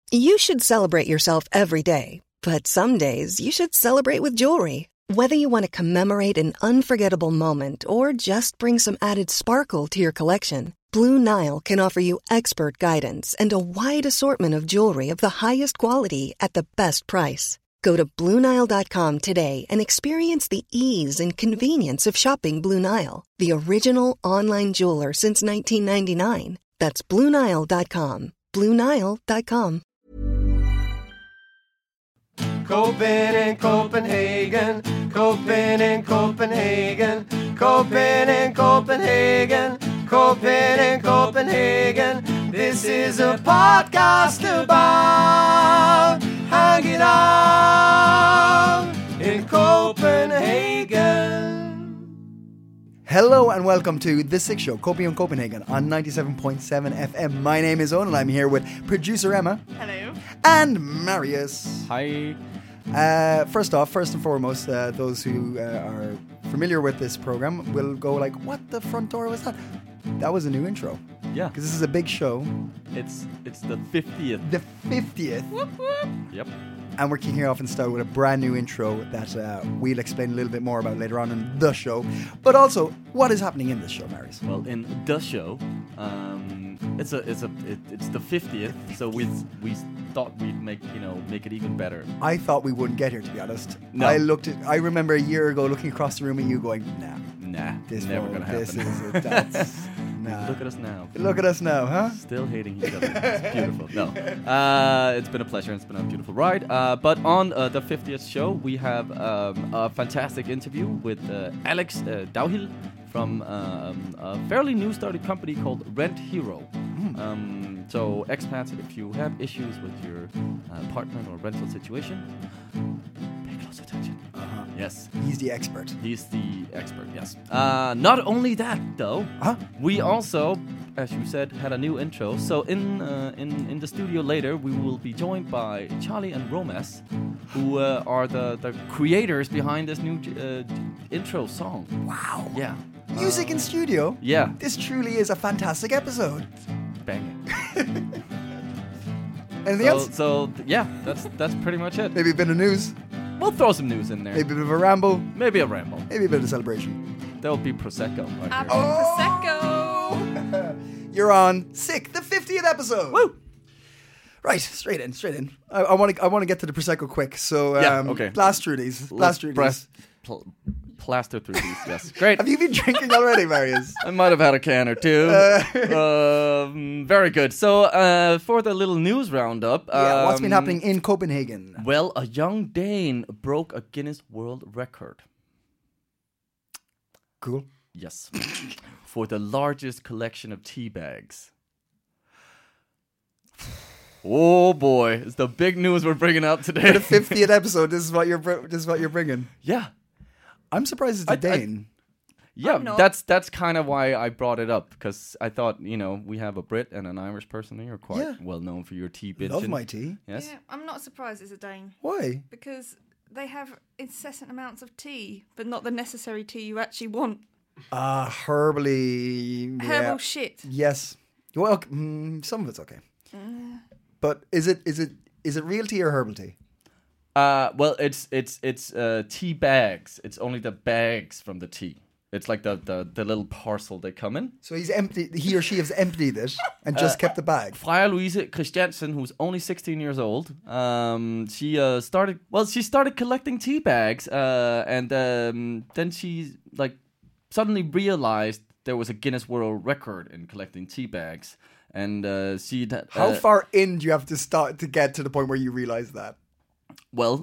You should celebrate yourself every day, but some days you should celebrate with jewelry. Whether you want to commemorate an unforgettable moment or just bring some added sparkle to your collection, Blue Nile can offer you expert guidance and a wide assortment of jewelry of the highest quality at the best price. Go to BlueNile.com today and experience the ease and convenience of shopping Blue Nile, the original online jeweler since 1999. That's BlueNile.com. BlueNile.com. Copen in Copenhagen, Copen in Copenhagen, Copen in Copenhagen, Copen in Copenhagen. This is a podcast about hanging out in Copenhagen. Hello and welcome to The Six Show, Copium Copenhagen on 97.7 FM. My name is Owen and I'm here with producer Emma. Hello. And Marius. Hi. First and foremost, those who are familiar with this program will go like, what the front door was that? That was a new intro. Yeah. Because this is a big show. It's the 50th. The 50th. Whoop, whoop. Yep. And we're kicking off in style with a brand new intro that we'll explain a little bit more about later on in the show. But also, what is happening in this show, Marius? Well, in the show, it's the 50th, so we thought we'd make it even better. I thought we wouldn't get here, to be honest. No. I remember a year ago looking across the room at you going, Nah, this never gonna happen. This is it. That's, nah. Look at us now. Look at us now, huh? Still hating each other. It's beautiful. No, it's been a pleasure. It's been a beautiful ride. But on the 50th show, we have a fantastic interview with Alex Dauhill from a fairly new started company called Rent Hero. So expats, if you have issues with your apartment or rental situation, pay close attention. Yes. He's the expert. He's the expert, yes. Not only that, though, we also, as you said, had a new intro. So in the studio later, we will be joined by Charlie and Romas, who are the creators behind this new intro song. Wow. Yeah. Music in studio? Yeah. This truly is a fantastic episode. Banging. Anything else? So yeah, that's pretty much it. Maybe a bit of news. We'll throw some news in there. Maybe a bit of a ramble. Maybe a ramble. Maybe a bit of a celebration. There'll be Prosecco. Prosecco. You're on Sick, the 50th episode. Woo! Right, straight in. I want to get to the Prosecco quick. So okay. Blast through these. Plaster through these, yes. Great. Have you been drinking already, Marius? I might have had a can or two. Very good. So, for the little news roundup. What's been happening in Copenhagen? Well, a young Dane broke a Guinness World Record. Cool. Yes. For the largest collection of tea bags. Oh boy, it's the big news we're bringing out today. For the 50th episode, this is what you're bringing. Yeah. I'm surprised it's a Dane. That's kind of why I brought it up, because I thought, we have a Brit and an Irish person here, quite well known for your tea binging. Love my tea. Yes. Yeah, I'm not surprised it's a Dane. Why? Because they have incessant amounts of tea, but not the necessary tea you actually want. Herbally. Herbal shit. Yes. Well, some of it's okay. But is it real tea or herbal tea? Well, it's tea bags. It's only the bags from the tea. It's like the little parcel they come in. So he or she has emptied it and just kept the bag. Freja Louise Christiansen, who's only 16 years old, she started collecting tea bags, and then she suddenly realized there was a Guinness World Record in collecting tea bags, and how far in do you have to start to get to the point where you realize that? Well,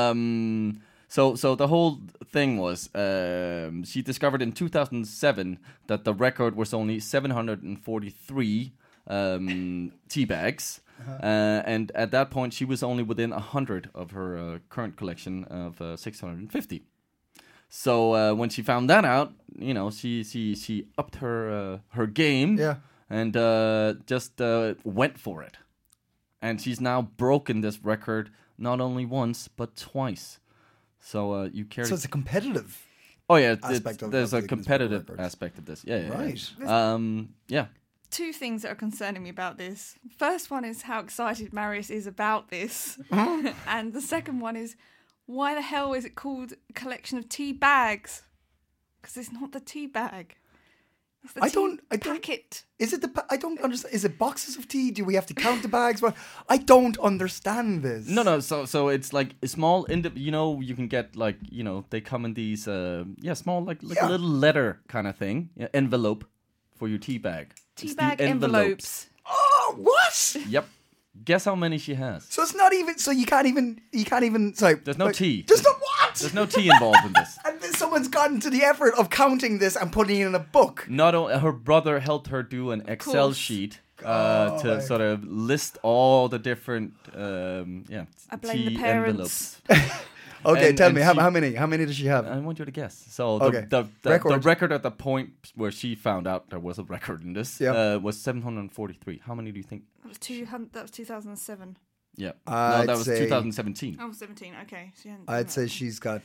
so the whole thing was she discovered in 2007 that the record was only 743 tea bags, and at that point she was only within 100 of her current collection of 650. So when she found that out, she upped her game, and just went for it, and she's now broken this record not only once but twice. So you carry. So it's a competitive. Oh yeah, there's a competitive aspect of this. Yeah. Right. Yeah. two things that are concerning me about this. First one is how excited Marius is about this. And the second one is, why the hell is it called a collection of tea bags? Because it's not the tea bag. It's the packet. Is it I don't understand. Is it boxes of tea? Do we have to count the bags? Well, I don't understand this. No. So it's like a small, you can get like, they come in these, small, like a little letter kind of thing, envelope for your tea bag. Tea bag envelopes. Oh, what? Yep. Guess how many she has. So it's not even. So you can't even. Sorry. There's no tea. There's no what? There's no tea involved in this. And then someone's gotten to the effort of counting this and putting it in a book. Not only her brother helped her do an Excel sheet to sort of list all the different I blame tea the parents. envelopes. Okay, And- tell and me she- how many? How many does she have? I want you to guess. So Okay. the Record. record at the point where she found out there was a record in this Yeah. was 743. How many do you think? That was 2007. Yeah. I'd no, that was say- 2017. Oh, 17. Okay. So I'd say she's got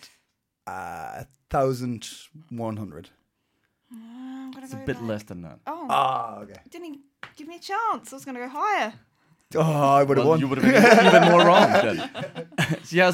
1,100. I'm gonna It's a go bit like- less than that. Oh, Okay. didn't even give me a chance. I was going to go higher. Oh, I would have Well, won. you would have been even more wrong then. She has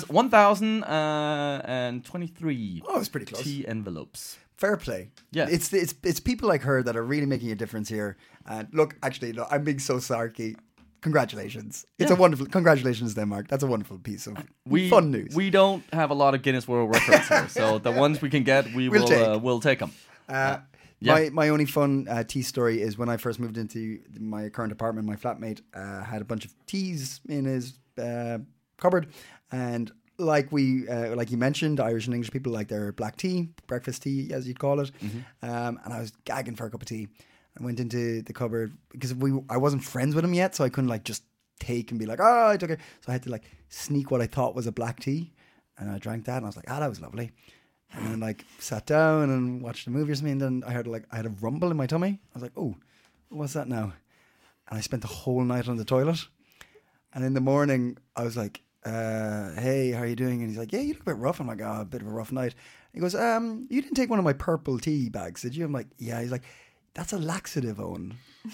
1,023 Oh, it's pretty close. tea envelopes. Fair play. Yeah. It's people like her that are really making a difference here. And look, actually, no, I'm being so sarky. Congratulations. It's a wonderful. Congratulations, Denmark. That's a wonderful piece of fun news. We don't have a lot of Guinness World Records here, so the ones we can get, we'll take them. My only fun tea story is when I first moved into my current apartment. My flatmate had a bunch of teas in his cupboard, and like you mentioned, Irish and English people like their black tea, breakfast tea, as you'd call it. And I was gagging for a cup of tea. I went into the cupboard because I wasn't friends with him yet, so I couldn't like just take and be like, oh, I took it. So I had to like sneak what I thought was a black tea, and I drank that, and I was like, that was lovely. And then like sat down and watched a movie or something, and then I had a rumble in my tummy. I was like, oh, what's that now? And I spent the whole night on the toilet. And in the morning, I was like, hey, how are you doing? And he's like, yeah, you look a bit rough. I'm like, oh, a bit of a rough night. He goes, you didn't take one of my purple tea bags, did you? I'm like, yeah. He's like, that's a laxative, Owen.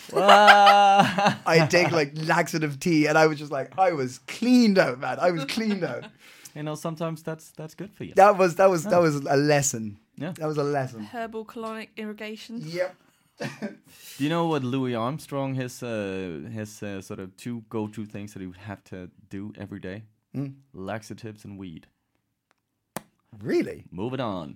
I take like laxative tea, and I was just like, I was cleaned out, man. I was cleaned out. Sometimes that's good for you. That was a lesson. Yeah. That was a lesson. Herbal colonic irrigation. Yep. Do you know what Louis Armstrong, his sort of two go-to things that he would have to do every day? Laxatives and weed. Really? Moving on.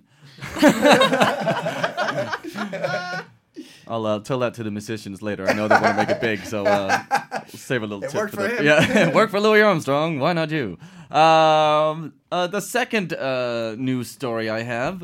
I'll tell that to the musicians later. I know they want to make it big, so save a little tip worked for them. him. Yeah, it worked for Louis Armstrong. Why not you? The second news story I have: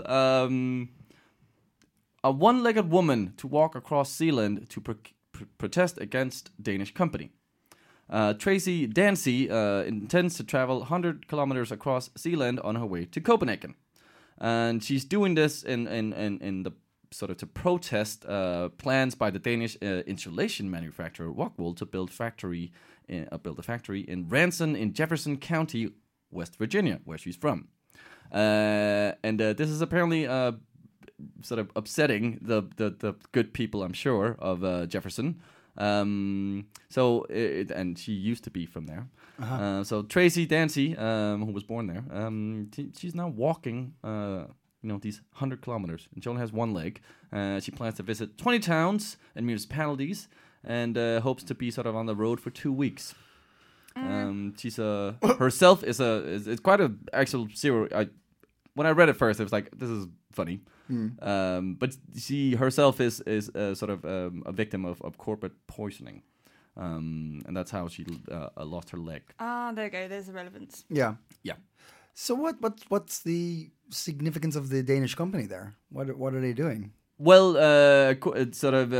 a one-legged woman to walk across Zealand to protest against Danish company. Tracy Dancy intends to travel 100 kilometers across Zealand on her way to Copenhagen, and she's doing this in the sort of to protest plans by the Danish insulation manufacturer Rockwool to build a factory in Ranson in Jefferson County, West Virginia, where she's from. And this is apparently sort of upsetting the good people, I'm sure, of Jefferson. And she used to be from there. So Tracy Dancy, who was born there, she's now walking these 100 kilometers, and she only has one leg. She plans to visit 20 towns and municipalities, and hopes to be sort of on the road for 2 weeks. She's herself is quite a actual zero. When I read it first, I was like, this is funny. But she herself is sort of a victim of corporate poisoning, and that's how she lost her leg. There you go. There's the relevance. Yeah. Yeah. So what's the significance of the Danish company there? What are they doing? Well, it's sort of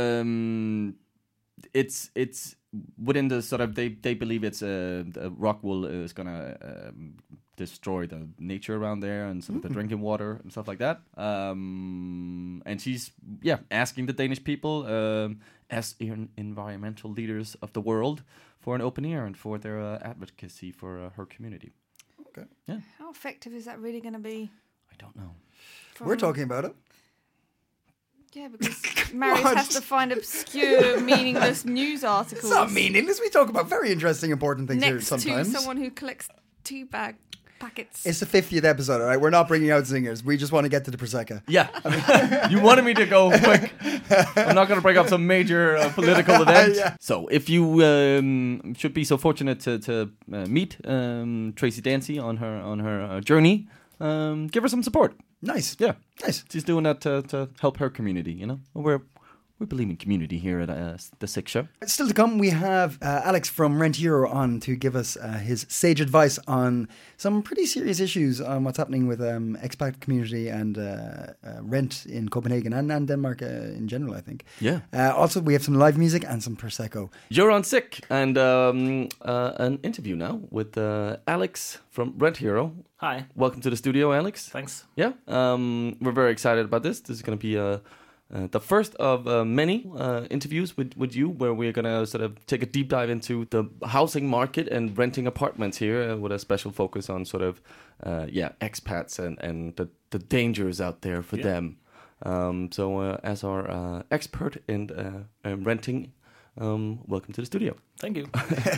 it's within the sort of they believe it's Rockwool is gonna destroy the nature around there and some of the drinking water and stuff like that. And she's asking the Danish people as environmental leaders of the world for an open ear and for their advocacy for her community. Okay. Yeah. How effective is that really going to be? I don't know. We're talking about it. Yeah, because Marius has to find obscure, meaningless news articles. It's not meaningless. We talk about very interesting, important things here next sometimes. to someone who collects tea bag packets. It's the 50th episode, all right? We're not bringing out singers. We just want to get to the Prosecco. Yeah. You wanted me to go quick. I'm not going to bring up some major political event. Yeah. So if you should be so fortunate to meet Tracy Dancy on her journey, give her some support. Nice. Yeah. Nice. She's doing that to help her community, you know? We believe in community here at The Sick Show. Still to come, we have Alex from Rent Hero on to give us his sage advice on some pretty serious issues on what's happening with expat community and rent in Copenhagen and Denmark in general, I think. Yeah. Also, we have some live music and some Prosecco. You're on Sick, and an interview now with Alex from Rent Hero. Hi. Welcome to the studio, Alex. Thanks. Yeah, we're very excited about this. This is going to be the first of many interviews with you, where we're going to sort of take a deep dive into the housing market and renting apartments here, with a special focus on sort of expats and the dangers out there for them. So as our expert in renting, welcome to the studio. Thank you.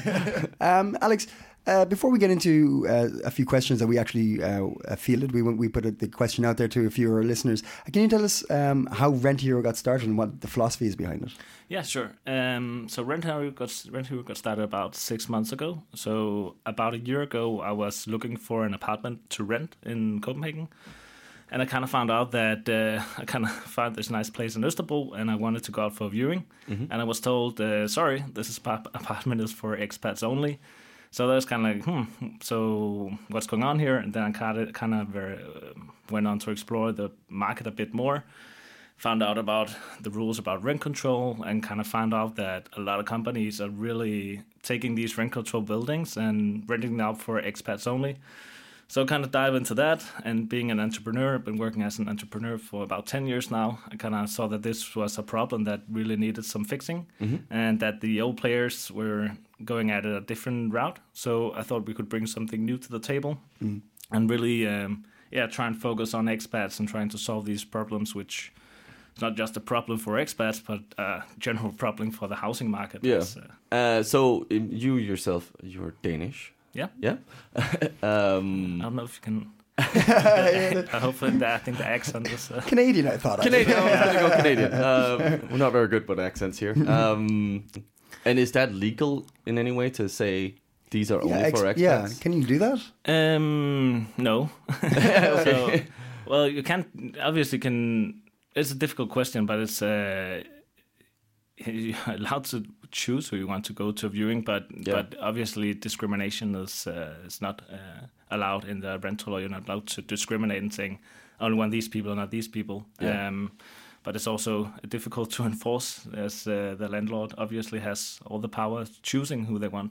Alex, before we get into a few questions that we actually fielded, we put the question out there to a few of our listeners. Can you tell us how Rent Hero got started and what the philosophy is behind it? Yeah, sure. So Rent Hero got started about 6 months ago. So about a year ago, I was looking for an apartment to rent in Copenhagen. And I kind of found out that I kind of found this nice place in Østerbro, and I wanted to go out for a viewing. Mm-hmm. And I was told, sorry, this apartment is for expats only. So that was kind of like, so what's going on here? And then I kind of went on to explore the market a bit more, found out about the rules about rent control, and kind of found out that a lot of companies are really taking these rent control buildings and renting them out for expats only. So kind of dive into that, and being an entrepreneur, I've been working as an entrepreneur for about 10 years now. I kind of saw that this was a problem that really needed some fixing, and that the old players were going at a different route. So I thought we could bring something new to the table and really, try and focus on expats and trying to solve these problems, which is not just a problem for expats, but a general problem for the housing market. Yeah. So you yourself, you're Danish. Yeah. Yeah. I don't know if you can. Hopefully, I think the accent was Canadian. I thought. Canadian. I was going to go Canadian. We're not very good with accents here. And is that legal in any way to say these are only for expats? Yeah. Can you do that? No. Okay. So, well, you can't. Obviously, can. It's a difficult question, but it's. You're allowed to choose who you want to go to a viewing, but obviously discrimination is not allowed in the rental law. You're not allowed to discriminate and saying only want these people, not these people. Yeah. But it's also difficult to enforce, as the landlord obviously has all the power choosing who they want.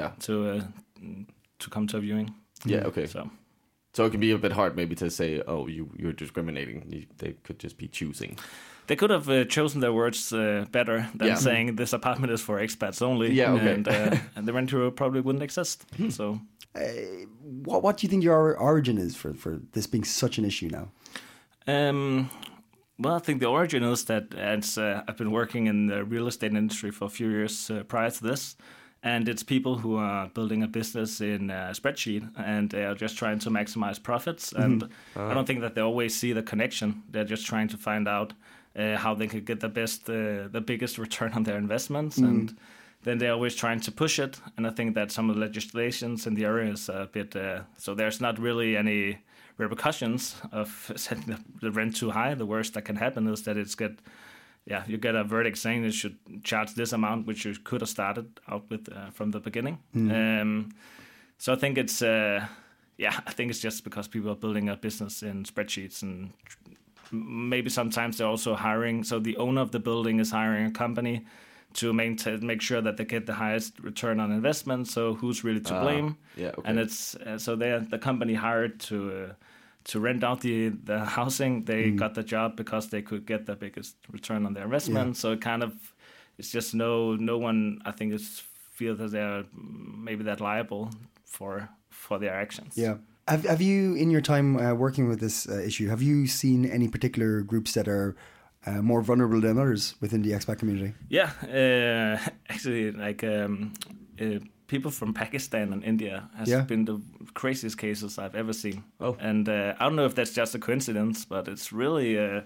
To come to a viewing. Yeah. Okay. So it can be a bit hard maybe to say, oh, you're discriminating. They could just be choosing. They could have chosen their words better than saying this apartment is for expats only. Yeah, okay. And the Rent Hero probably wouldn't exist. So, what do you think your origin is for this being such an issue now? Well, I think the origin is that I've been working in the real estate industry for a few years prior to this. And it's people who are building a business in a spreadsheet, and they are just trying to maximize profits. And I don't think that they always see the connection. They're just trying to find out how they could get the biggest return on their investments. And then they're always trying to push it. And I think that some of the legislations in the area is a bit... so there's not really any repercussions of setting the rent too high. The worst that can happen is that you get a verdict saying you should charge this amount, which you could have started out with from the beginning. So I think it's just because people are building a business in spreadsheets, and maybe sometimes they're also hiring. So the owner of the building is hiring a company to make sure that they get the highest return on investment. So who's really to blame? Yeah, okay. And it's so the company hired to rent out the housing. They got the job because they could get the biggest return on their investment. Yeah. So it's just no one, I think, feel that they're maybe that liable for their actions. Yeah. Have you, in your time working with this issue, have you seen any particular groups that are more vulnerable than others within the expat community? Yeah, actually, like people from Pakistan and India has been the craziest cases I've ever seen. Oh. And I don't know if that's just a coincidence, but it's really,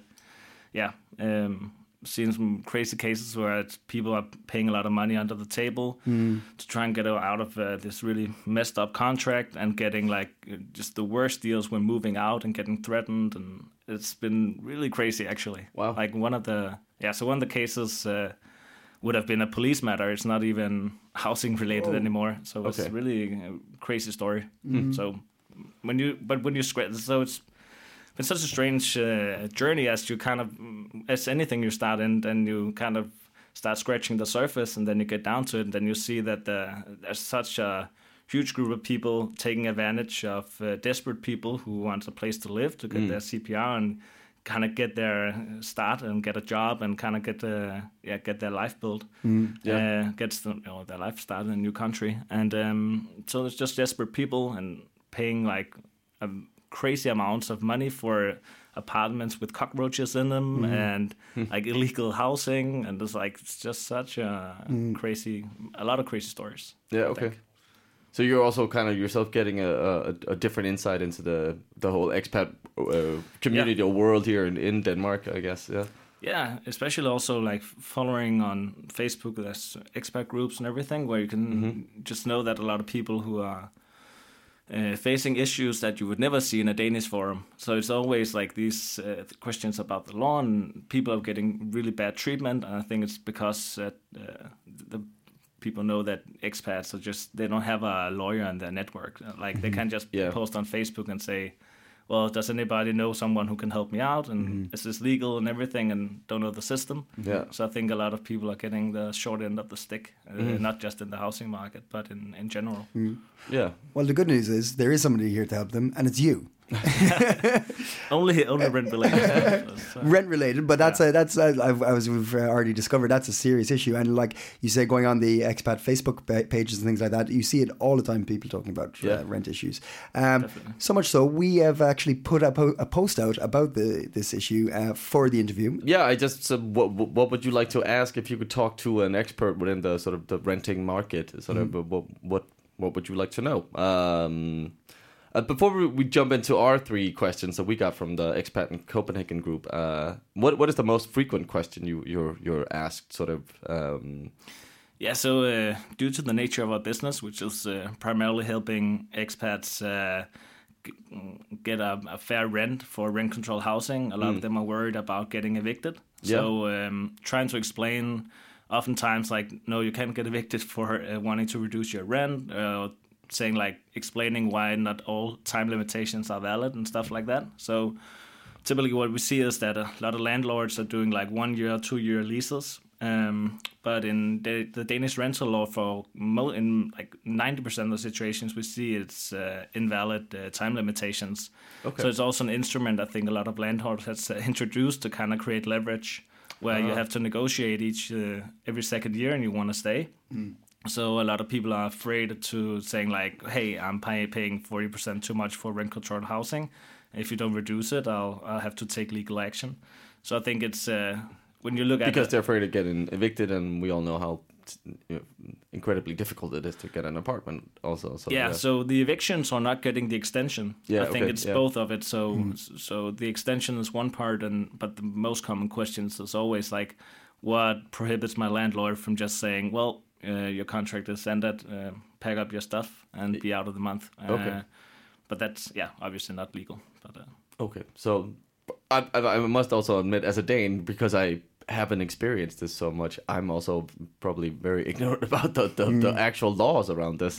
seen some crazy cases where people are paying a lot of money under the table to try and get out of this really messed up contract and getting like just the worst deals when moving out and getting threatened, and it's been really crazy actually. Wow. Like one of the cases would have been a police matter. It's not even housing related anymore. So it's really a crazy story. So when you square, so it's been such a strange journey as anything you start in, then you kind of start scratching the surface, and then you get down to it, and then you see that there's such a huge group of people taking advantage of desperate people who want a place to live, to get their CPR and kind of get their start and get a job and kind of get their life built, gets their life started in a new country, and so it's just desperate people and paying like crazy amounts of money for apartments with cockroaches in them and like illegal housing, and it's just such a lot of crazy stories. Yeah, okay. So you're also kind of yourself getting a different insight into the whole expat community or world here in Denmark, I guess. Yeah. Yeah, especially also like following on Facebook, there's expat groups and everything where you can just know that a lot of people who are facing issues that you would never see in a Danish forum. So it's always like these questions about the law, and people are getting really bad treatment. And I think it's because the people know that expats are they don't have a lawyer in their network. Like they can't just post on Facebook and say, well, does anybody know someone who can help me out? And is this legal and everything, and don't know the system? Yeah. So I think a lot of people are getting the short end of the stick, not just in the housing market, but in general. Yeah. Well, the good news is there is somebody here to help them, and it's you. only rent related. Rent related, but we've already discovered that's a serious issue. And like you say, going on the expat Facebook pages and things like that, you see it all the time. People talking about rent issues. So much so, we have actually put a post out about this issue for the interview. Yeah, I just said, what would you like to ask if you could talk to an expert within the sort of the renting market? Sort of what would you like to know? Before we jump into our 3 questions that we got from the Expat in Copenhagen group, what is the most frequent question you're asked? Sort of. So due to the nature of our business, which is primarily helping expats get a fair rent for rent control housing, a lot of them are worried about getting evicted. So trying to explain, oftentimes like, no, you can't get evicted for wanting to reduce your rent. Saying like explaining why not all time limitations are valid and stuff like that. So typically what we see is that a lot of landlords are doing like 1 year, 2 year leases. But in the Danish rental law, in like 90% of the situations we see it's invalid time limitations. Okay. So it's also an instrument I think a lot of landlords has introduced to kind of create leverage where you have to negotiate every second year and you want to stay. So a lot of people are afraid to saying like, hey, I'm paying 40% too much for rent controlled housing. If you don't reduce it, I'll have to take legal action. So I think it's when you look at because they're afraid of getting evicted, and we all know how incredibly difficult it is to get an apartment also. So, so the evictions are not getting the extension. I think it's both of it. So the extension is one part, but the most common questions is always like, what prohibits my landlord from just saying, well, your contract is ended, pack up your stuff and be out of the month. But that's, obviously not legal. But okay, so I must also admit, as a Dane, because I haven't experienced this so much, I'm also probably very ignorant about the actual laws around this.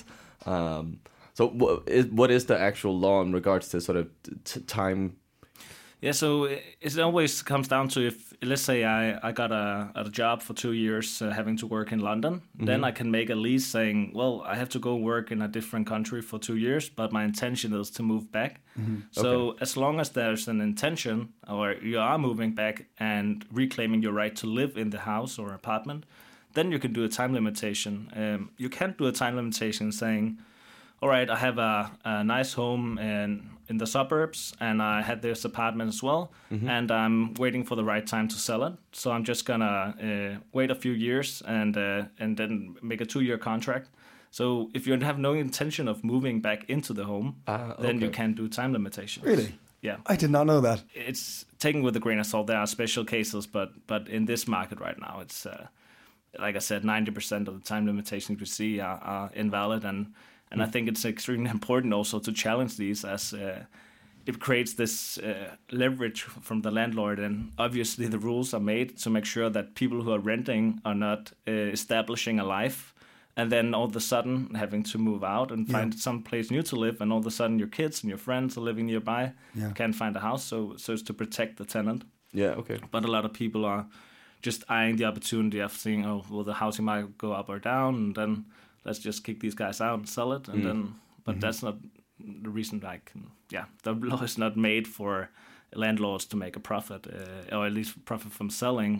So what is the actual law in regards to sort of time? Yeah, so it always comes down to if, let's say I got a job for 2 years having to work in London, then I can make a lease saying, well, I have to go work in a different country for 2 years, but my intention is to move back. So as long as there's an intention, or you are moving back and reclaiming your right to live in the house or apartment, then you can do a time limitation. You can't do a time limitation saying, all right, I have a nice home and in the suburbs, and I had this apartment as well, and I'm waiting for the right time to sell it. So I'm just gonna wait a few years and then make a 2-year contract. So if you have no intention of moving back into the home, then you can do time limitation. Really? Yeah. I did not know that. It's taken with a grain of salt. There are special cases, but in this market right now, it's like I said, 90% of the time limitations we see are invalid, and I think it's extremely important also to challenge these, as it creates this leverage from the landlord, and obviously the rules are made to make sure that people who are renting are not establishing a life and then all of a sudden having to move out and find some place new to live, and all of a sudden your kids and your friends are living nearby, can't find a house, so it's to protect the tenant. Yeah, okay. But a lot of people are just eyeing the opportunity of seeing, will the housing market go up or down, and then let's just kick these guys out and sell it, and then. But that's not the reason. The law is not made for landlords to make a profit, or at least profit from selling.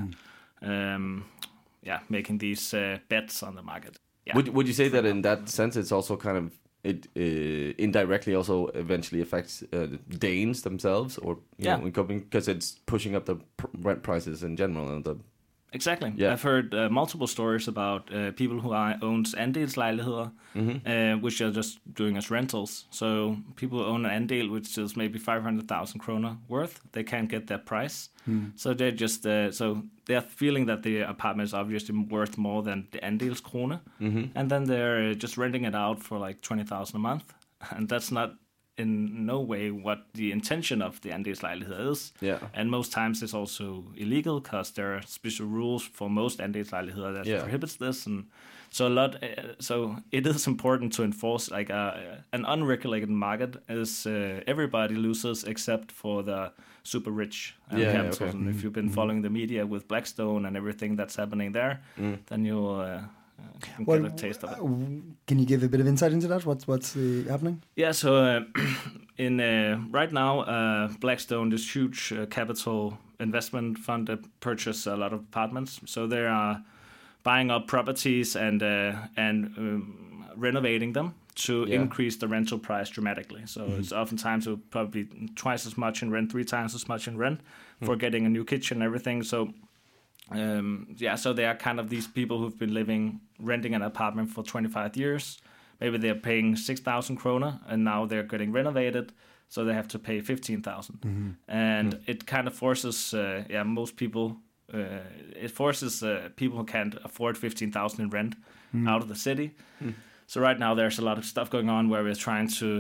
Making these bets on the market. Yeah. Would you say that in that sense, it's also kind of it indirectly also eventually affects Danes themselves, or you know, because it's pushing up the rent prices in general and the. Exactly. Yeah. I've heard multiple stories about people who owns andelslejligheder, which are just doing as rentals. So people who own an andel, which is maybe 500,000 kroner worth, they can't get that price. So they're just so they're feeling that the apartment is obviously worth more than the andelskrone, and then they're just renting it out for like 20,000 a month, and that's not in no way what the intention of the andelslejlighed is. Yeah. And most times it's also illegal because there are special rules for most andelslejligheder that prohibits this, and so so it is important to enforce like an unregulated market is everybody loses except for the super rich capitals. Okay. And if you've been following the media with Blackstone and everything that's happening there, then you'll get a taste of it. Can you give a bit of insight into that? What's happening? Yeah, so in right now, Blackstone, this huge capital investment fund that purchase a lot of apartments. So they are buying up properties and renovating them to increase the rental price dramatically. So it's oftentimes probably twice as much in rent, 3 times as much in rent for getting a new kitchen and everything. So so they are kind of these people who've been renting an apartment for 25 years. Maybe they're paying 6,000 kroner, and now they're getting renovated, so they have to pay 15,000. And it kind of forces, most people. It forces people who can't afford 15,000 in rent out of the city. So right now there's a lot of stuff going on where we're trying to.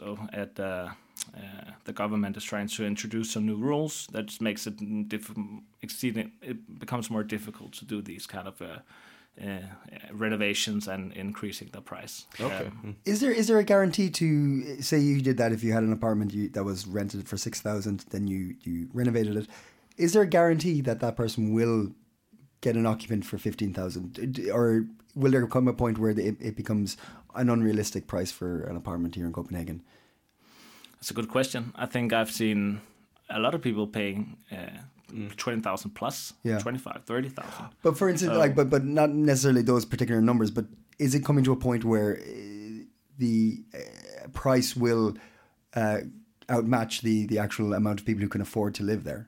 The government is trying to introduce some new rules that makes it it becomes more difficult to do these kind of renovations and increasing the price. Okay. Is there a guarantee to say you did that if you had an apartment that was rented for 6,000, then you renovated it? Is there a guarantee that person will get an occupant for 15,000, or will there come a point where it becomes an unrealistic price for an apartment here in Copenhagen? That's a good question. I think I've seen a lot of people paying 20,000 plus, 25, 30,000. But for instance, but not necessarily those particular numbers, but is it coming to a point where the price will outmatch the actual amount of people who can afford to live there?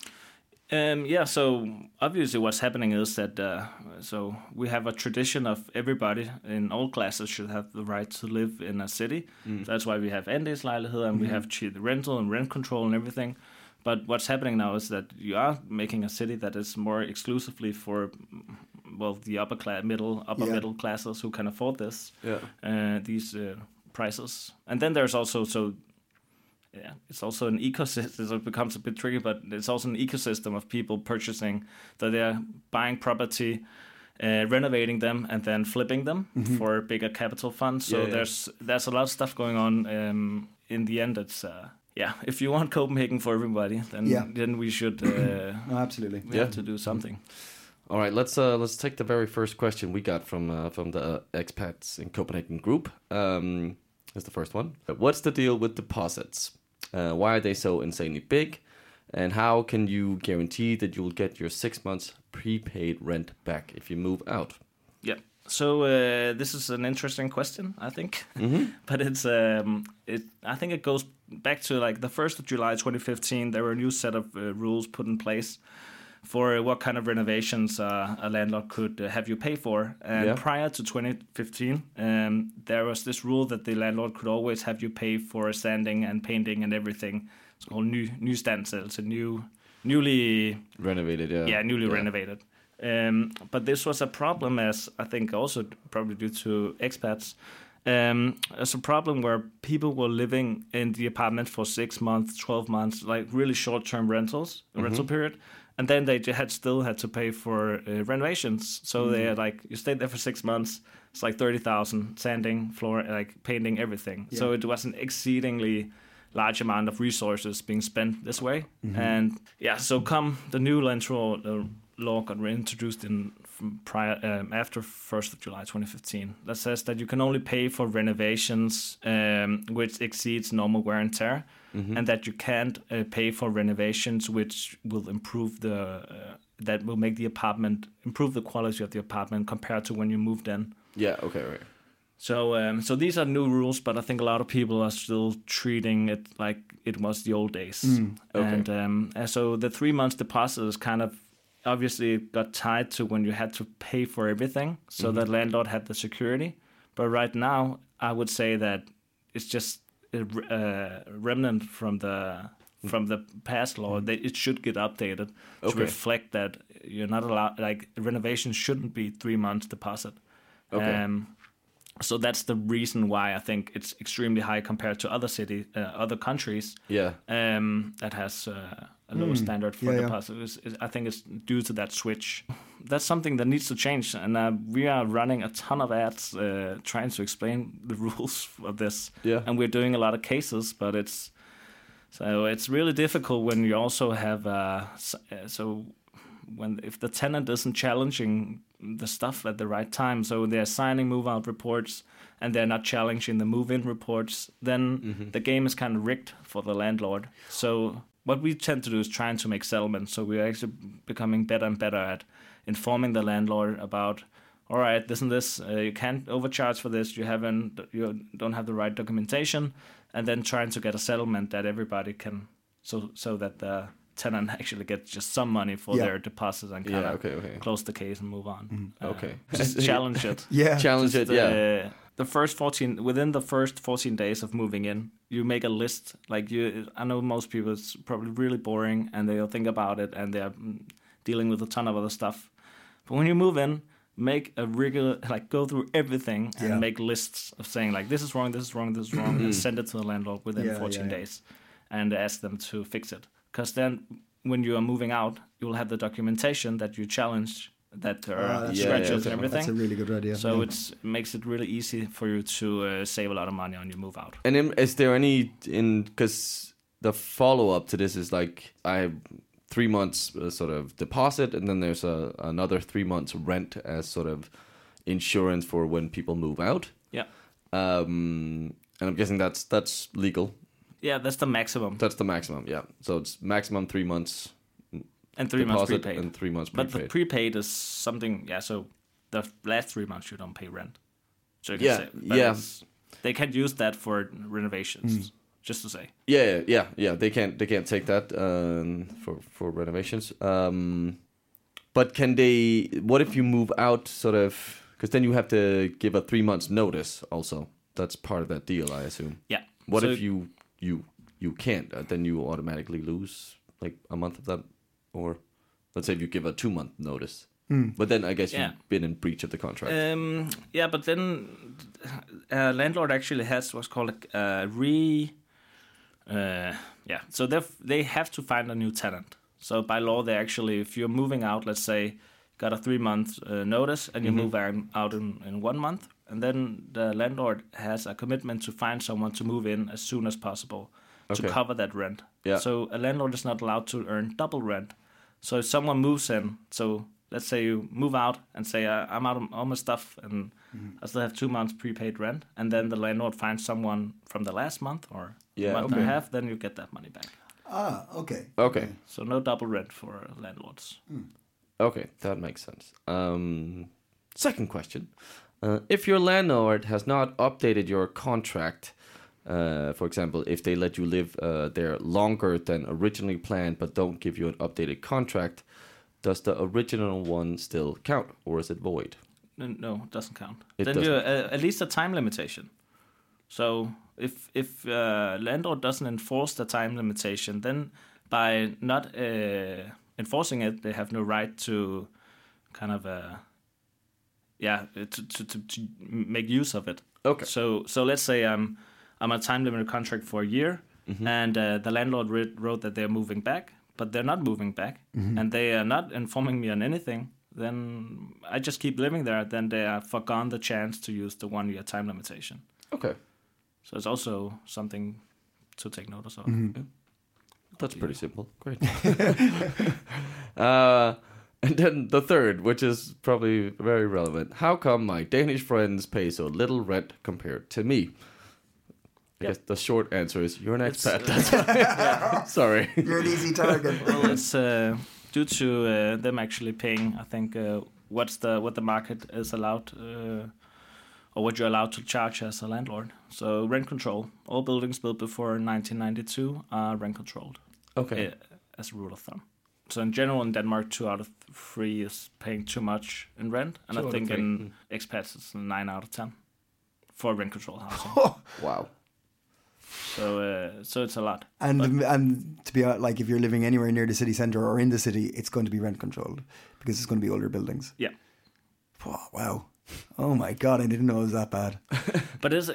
So obviously what's happening is that so we have a tradition of everybody in all classes should have the right to live in a city. That's why we have andelslejligheder and we have the rental and rent control and everything. But what's happening now is that you are making a city that is more exclusively for, the upper middle classes who can afford this, these prices. And then there's also it's also an ecosystem. So it becomes a bit tricky, but it's also an ecosystem of people purchasing, that they're buying property, renovating them, and then flipping them for bigger capital funds. So there's a lot of stuff going on. In the end, it's if you want Copenhagen for everybody, then we should absolutely we have to do something. All right, let's take the very first question we got from the expats in Copenhagen group. That's the first one. What's the deal with deposits? Why are they so insanely big? And how can you guarantee that you'll get your 6 months prepaid rent back if you move out? Yeah. So this is an interesting question, I think, but it's I think it goes back to like the 1st of July 2015. There were a new set of rules put in place for what kind of renovations a landlord could have you pay for. And prior to 2015, there was this rule that the landlord could always have you pay for sanding and painting and everything. It's called new standstill. It's a newly renovated. Newly renovated. But this was a problem, as I think also probably due to expats. It's a problem where people were living in the apartment for 6 months, 12 months, like really short-term rental period. And then they still had to pay for renovations. So they had you stayed there for 6 months. It's like 30,000 sanding, floor, like painting, everything. Yeah. So it was an exceedingly large amount of resources being spent this way. And so come the new law got reintroduced after 1st of July 2015 that says that you can only pay for renovations which exceeds normal wear and tear, and that you can't pay for renovations which will improve that will make the apartment improve the quality of the apartment compared to when you moved in. Yeah. Okay. Right. So these are new rules, but I think a lot of people are still treating it like it was the old days. Okay. And so the 3 months deposit is kind of obviously got tied to when you had to pay for everything, so the landlord had the security. But right now, I would say that it's just a remnant from the past law. That it should get updated to reflect that you're not allowed. Like renovations shouldn't be 3 months deposit. Okay. So that's the reason why I think it's extremely high compared to other countries. Yeah. That has a lower standard for deposit. I think it's due to that switch. That's something that needs to change, and we are running a ton of ads trying to explain the rules of this. Yeah. And we're doing a lot of cases, but it's really difficult when you also have if the tenant isn't challenging the stuff at the right time, so they're signing move-out reports and they're not challenging the move-in reports, then the game is kind of rigged for the landlord. So what we tend to do is trying to make settlements. So we're actually becoming better and better at informing the landlord about, all right, this and this, you can't overcharge for this, you don't have the right documentation, and then trying to get a settlement that everybody can, so that the tenant actually gets just some money for their deposit and kind of close the case and move on. Just challenge it. Challenge it. Within the first 14 days of moving in, you make a list. I know most people, it's probably really boring and they'll think about it and they're dealing with a ton of other stuff. But when you move in, make a regular, go through everything and make lists of saying this is wrong, this is wrong, this is wrong, and send it to the landlord within 14 days and ask them to fix it. Because then when you are moving out, you will have the documentation that you challenge, that there are scratches and everything. That's a really good idea. So it makes it really easy for you to save a lot of money on your move out. And is there because the follow-up to this is I have 3 months sort of deposit, and then there's another 3 months rent as sort of insurance for when people move out. Yeah. And I'm guessing that's legal. Yeah, that's the maximum. That's the maximum, yeah. So it's maximum 3 months and 3 months prepaid. And 3 months prepaid. But the prepaid is something, so the last 3 months you don't pay rent. So you can say, they can't use that for renovations, just to say. Yeah. They can't take that for renovations. But can they? What if you move out, sort of? Because then you have to give a 3 months notice. Also, that's part of that deal, I assume. Yeah. What if you can't? Then you automatically lose a month of that, or let's say if you give a 2 month notice. But then I guess you've been in breach of the contract. But then landlord actually has what's called so they have to find a new tenant. So by law, they actually, if you're moving out, let's say, got a 3 month notice and you move out in 1 month, and then the landlord has a commitment to find someone to move in as soon as possible to cover that rent. Yeah. So a landlord is not allowed to earn double rent. So if someone moves in, so let's say you move out and say, I'm out of all my stuff and I still have 2 months prepaid rent, and then the landlord finds someone from the last month or a month and a half, then you get that money back. Okay. So no double rent for landlords. Okay, that makes sense. Second question. If your landlord has not updated your contract, for example, if they let you live there longer than originally planned but don't give you an updated contract, does the original one still count, or is it void? No, it doesn't count. It Then doesn't. you at least a time limitation. So if landlord doesn't enforce the time limitation, then by not enforcing it, they have no right to kind of to make use of it. Okay. So let's say I'm on a time limited contract for a year, and the landlord wrote that they're moving back, but they're not moving back, and they are not informing me on anything. Then I just keep living there. Then they have forgone the chance to use the 1 year time limitation. Okay. So it's also something to take notice of. Yeah. That's pretty simple. Great. And then the third, which is probably very relevant. How come my Danish friends pay so little rent compared to me? I guess the short answer is you're an expat. That's why. Sorry. You're an easy target. Well, it's due to them actually paying, I think, what the market is allowed, or what you're allowed to charge as a landlord. So rent control. All buildings built before 1992 are rent controlled. Okay. As a rule of thumb. So in general, in Denmark, 2 out of 3 is paying too much in rent, and I think in expats it's 9 out of 10 for rent control housing. Wow. So it's a lot. And to be like, if you're living anywhere near the city centre or in the city, it's going to be rent controlled because it's going to be older buildings. Yeah. Wow. Oh my God, I didn't know it was that bad. But it's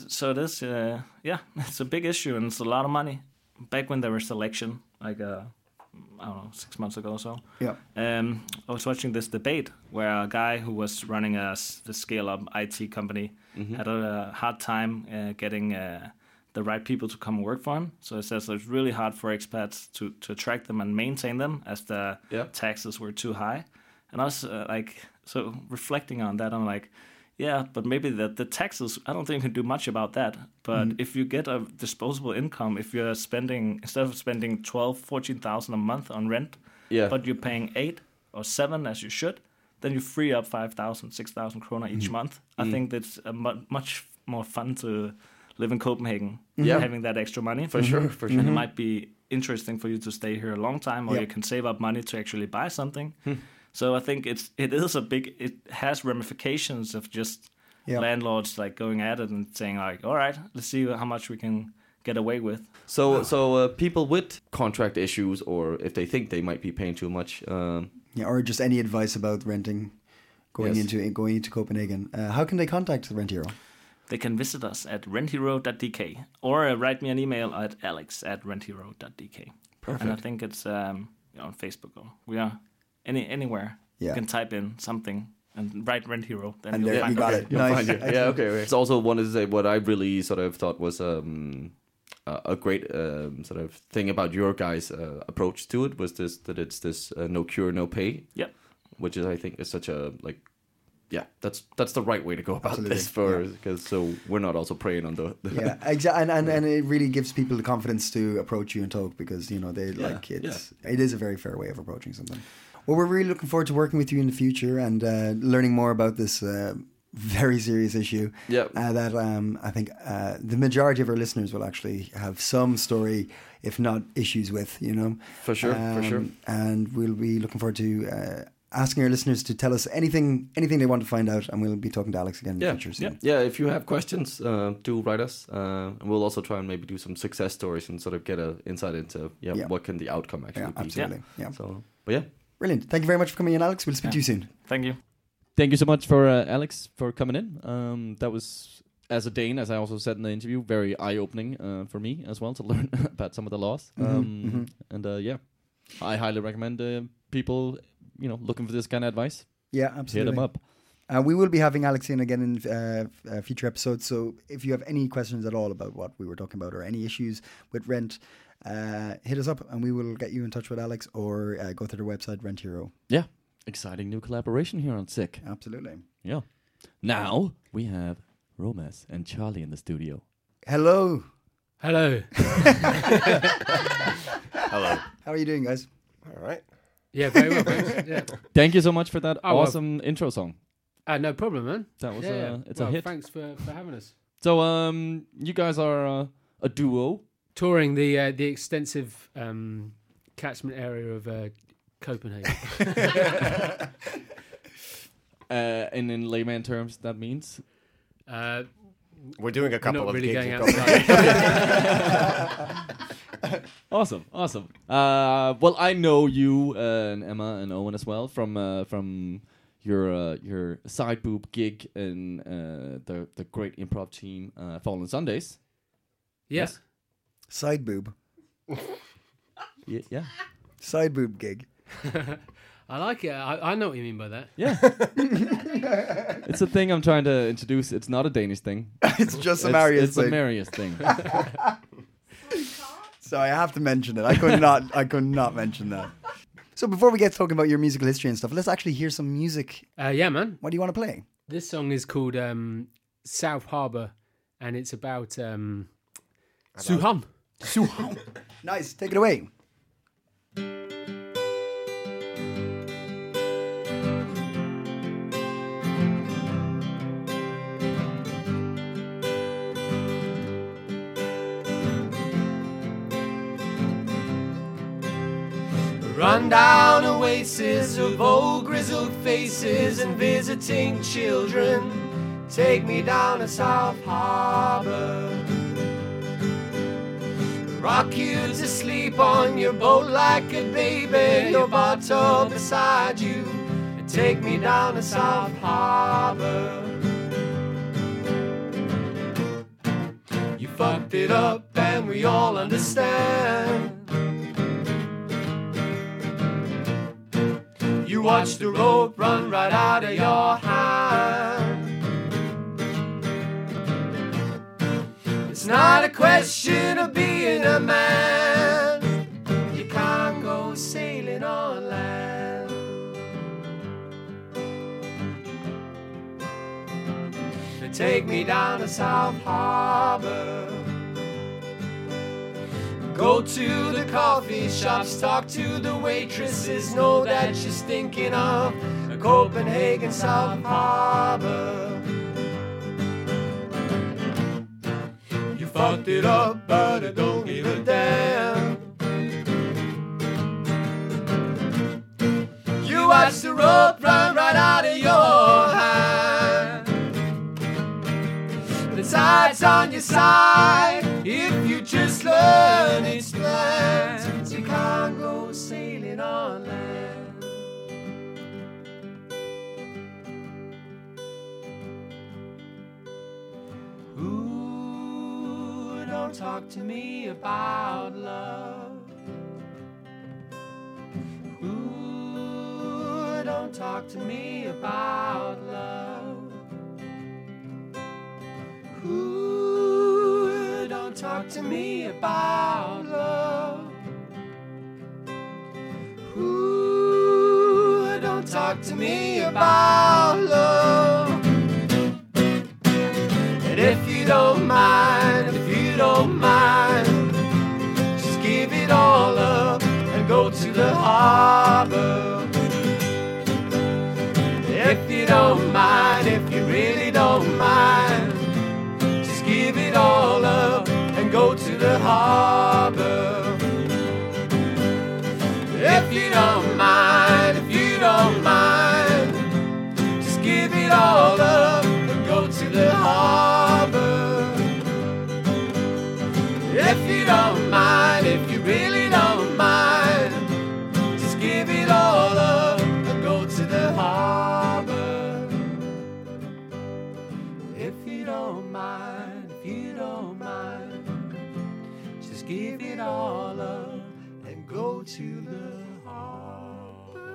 a big issue, and it's a lot of money. Back when there was election, like I don't know, 6 months ago or so. Yeah. I was watching this debate where a guy who was running the scale-up IT company had a hard time getting the right people to come and work for him. So it says it's really hard for expats to attract them and maintain them as the taxes were too high. And I was so reflecting on that, I'm like, yeah, but maybe the taxes, I don't think you can do much about that. But if you get a disposable income, if you're spending, instead of spending 14,000 a month on rent, but you're paying 8 or 7 as you should, then you free up 5,000, 6,000 kroner each month. I think that's much more fun to live in Copenhagen, having that extra money. For sure. And it might be interesting for you to stay here a long time, or you can save up money to actually buy something. So I think it has ramifications of just landlords like going at it and saying like, all right, let's see how much we can get away with. So people with contract issues, or if they think they might be paying too much, or just any advice about renting, going into Copenhagen, how can they contact Rent Hero? They can visit us at renthero.dk or write me an email at alex@renthero.dk. Perfect. And I think it's on Facebook, or we are anywhere. You can type in something and write Rent Hero. Then and you'll there, find you got it. it. Nice. Yeah, okay. It's also wanted to say what I really sort of thought was a great sort of thing about your guys' approach to it was that it's this no cure, no pay. Yep. Which is, I think, is such a that's the right way to go about Absolutely. this because so we're not also preying on the exactly, and it really gives people the confidence to approach you and talk, because they it is a very fair way of approaching something. Well, we're really looking forward to working with you in the future and learning more about this very serious issue. That I think the majority of our listeners will actually have some story, if not issues with. For sure. And we'll be looking forward to asking our listeners to tell us anything they want to find out, and we'll be talking to Alex again in the future soon. Yeah, if you have questions, do write us. And we'll also try and maybe do some success stories and sort of get an insight into what can the outcome actually be. Absolutely. Yeah. So, but yeah. Brilliant. Thank you very much for coming in, Alex. We'll speak to you soon. Thank you. Thank you so much for Alex for coming in. That was, as a Dane, as I also said in the interview, very eye-opening for me as well to learn about some of the laws. And I highly recommend people looking for this kind of advice. Yeah, absolutely. Hit them up. We will be having Alex in again in future episodes. So if you have any questions at all about what we were talking about or any issues with rent, hit us up and we will get you in touch with Alex, or go to their website, Rent Hero. Yeah. Exciting new collaboration here on Sick. Absolutely. Yeah. Now we have Romas and Charlie in the studio. Hello. Hello. Hello. How are you doing, guys? All right. Yeah, very well, thanks. Yeah. Thank you so much for that awesome intro song. No problem, man. That was it's well, a hit. Thanks for having us. So you guys are a duo. Touring the extensive catchment area of Copenhagen. And in layman terms, that means we're doing a couple not of really gigs going in outside. Awesome. Well, I know you and Emma and Owen as well from your side boob gig in the great improv team Fallen Sundays. Yes. Side boob. Yeah. Side boob gig. I like it. I know what you mean by that. Yeah. It's a thing I'm trying to introduce. It's not a Danish thing. It's just a Marius thing. It's a Marius thing. So I have to mention it. I could not mention that. So before we get talking about your musical history and stuff, let's actually hear some music. Yeah, man. What do you want to play? This song is called South Harbour, and it's about Suhan. Suhan. Nice. Take it away. Run-down oasis of old grizzled faces and visiting children. Take me down to South Harbour. Rock you to sleep on your boat like a baby, your bottle beside you. Take me down to South Harbour. You fucked it up and we all understand. You watch the rope run right out of your hand. It's not a question of being a man. You can't go sailing on land. Take me down to South Harbour. Go to the coffee shops, talk to the waitresses, know that she's thinking of Copenhagen, South Harbour. You fucked it up, but I don't give a damn. You watch the rope run right out of your hand. The tide's on your side. If you just learn its plans, you can't go sailing on land. Ooh, don't talk to me about love. Ooh, don't talk to me about love. Ooh, don't talk to me about love. Ooh, don't talk to me about love. And if you don't mind, just give it all up and go to the harbor. If you don't mind, if you really don't mind, just give it all up and go to the harbor. If you don't mind, just give it all up and go to the harbor. If you don't mind, if you really don't mind, just give it all up and go to the harbor. If you don't mind, just give it all up and go to the harbor.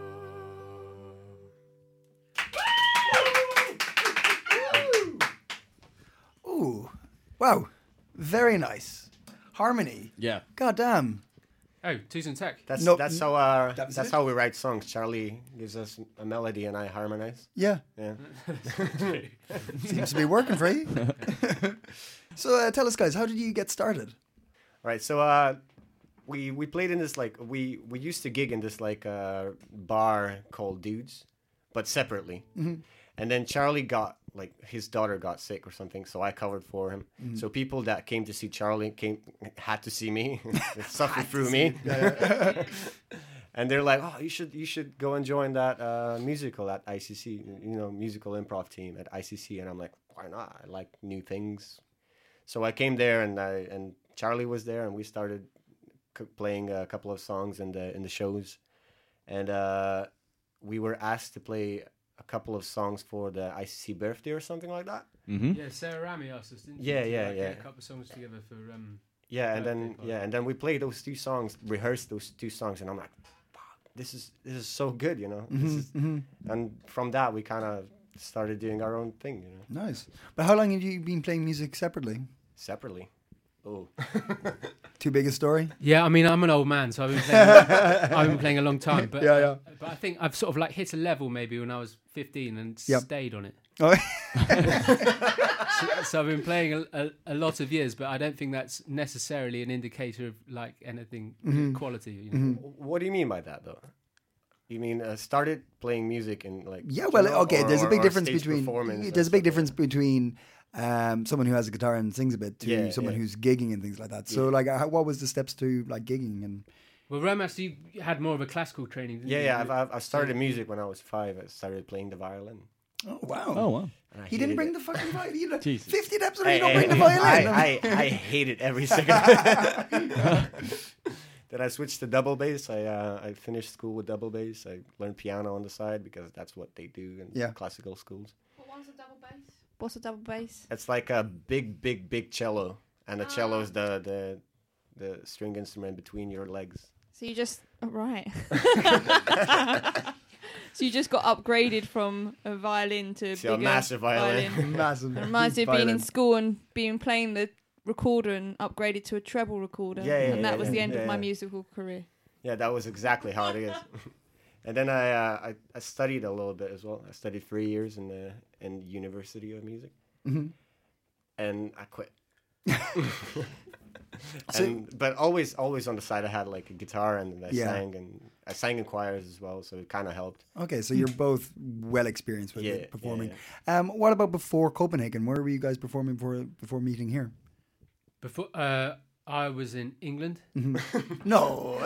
Ooh, wow, very nice harmony. Yeah. God damn. Oh, Tusen Tech. That's it? how we write songs. Charlie gives us a melody and I harmonize. Yeah, Yeah. seems to be working for you. So tell us, guys, how did you get started? Right. So we played in this like we used to gig in this like bar called Dudes, but separately. Mm-hmm. And then Charlie got, like, his daughter got sick or something, so I covered for him. So people that came to see Charlie had to see me, suffer through me. And they're like, oh, you should go and join that musical at ICC, musical improv team at ICC. And I'm like, why not? I like new things. So I came there, and Charlie was there, and we started playing a couple of songs in the shows. And we were asked to play a couple of songs for the ICC birthday or something like that. Mm-hmm. Yeah, Sarah Rami asked us, didn't she? Yeah. A couple of songs together for. And then we played those 2 songs, rehearsed those 2 songs, and I'm like, wow, this is so good, And from that we kind of started doing our own thing, Nice. But how long have you been playing music separately? Separately. Oh. Too big a story? Yeah, I mean, I'm an old man, so I've been playing a long time. But but I think I've sort of like hit a level maybe when I was 15 and stayed on it. Oh. So I've been playing a lot of years, but I don't think that's necessarily an indicator of like anything quality. What do you mean by that, though? You mean started playing music and like? Yeah, well, okay. There's a big difference between. There's a big difference like between someone who has a guitar and sings a bit to someone who's gigging and things like that. So, like, what was the steps to like gigging and? Well, Romas, you had more of a classical training, didn't you? Yeah. I started music when I was 5. I started playing the violin. Oh wow! Oh wow! He didn't bring the fucking violin. 50 episodes, you don't bring the violin. I hate it every second. Then I switched to double bass. I finished school with double bass. I learned piano on the side because that's what they do in classical schools. What's a double bass? What's a double bass? It's like a big cello, and the cello is the string instrument between your legs. So you just right. So you just got upgraded from a violin to a massive violin. Massive. It reminds me of being in school and playing the recorder and upgraded to a treble recorder. And that was the end of my musical career. Yeah, that was exactly how it is. And then I studied a little bit as well. I studied 3 years in the University of Music. Mm-hmm. And I quit. But always on the side I had like a guitar and I sang in choirs as well, so it kind of helped. Okay, so you're both well experienced with performing. Yeah. What about before Copenhagen? Where were you guys performing before meeting here? Before I was in England. Mm-hmm. No.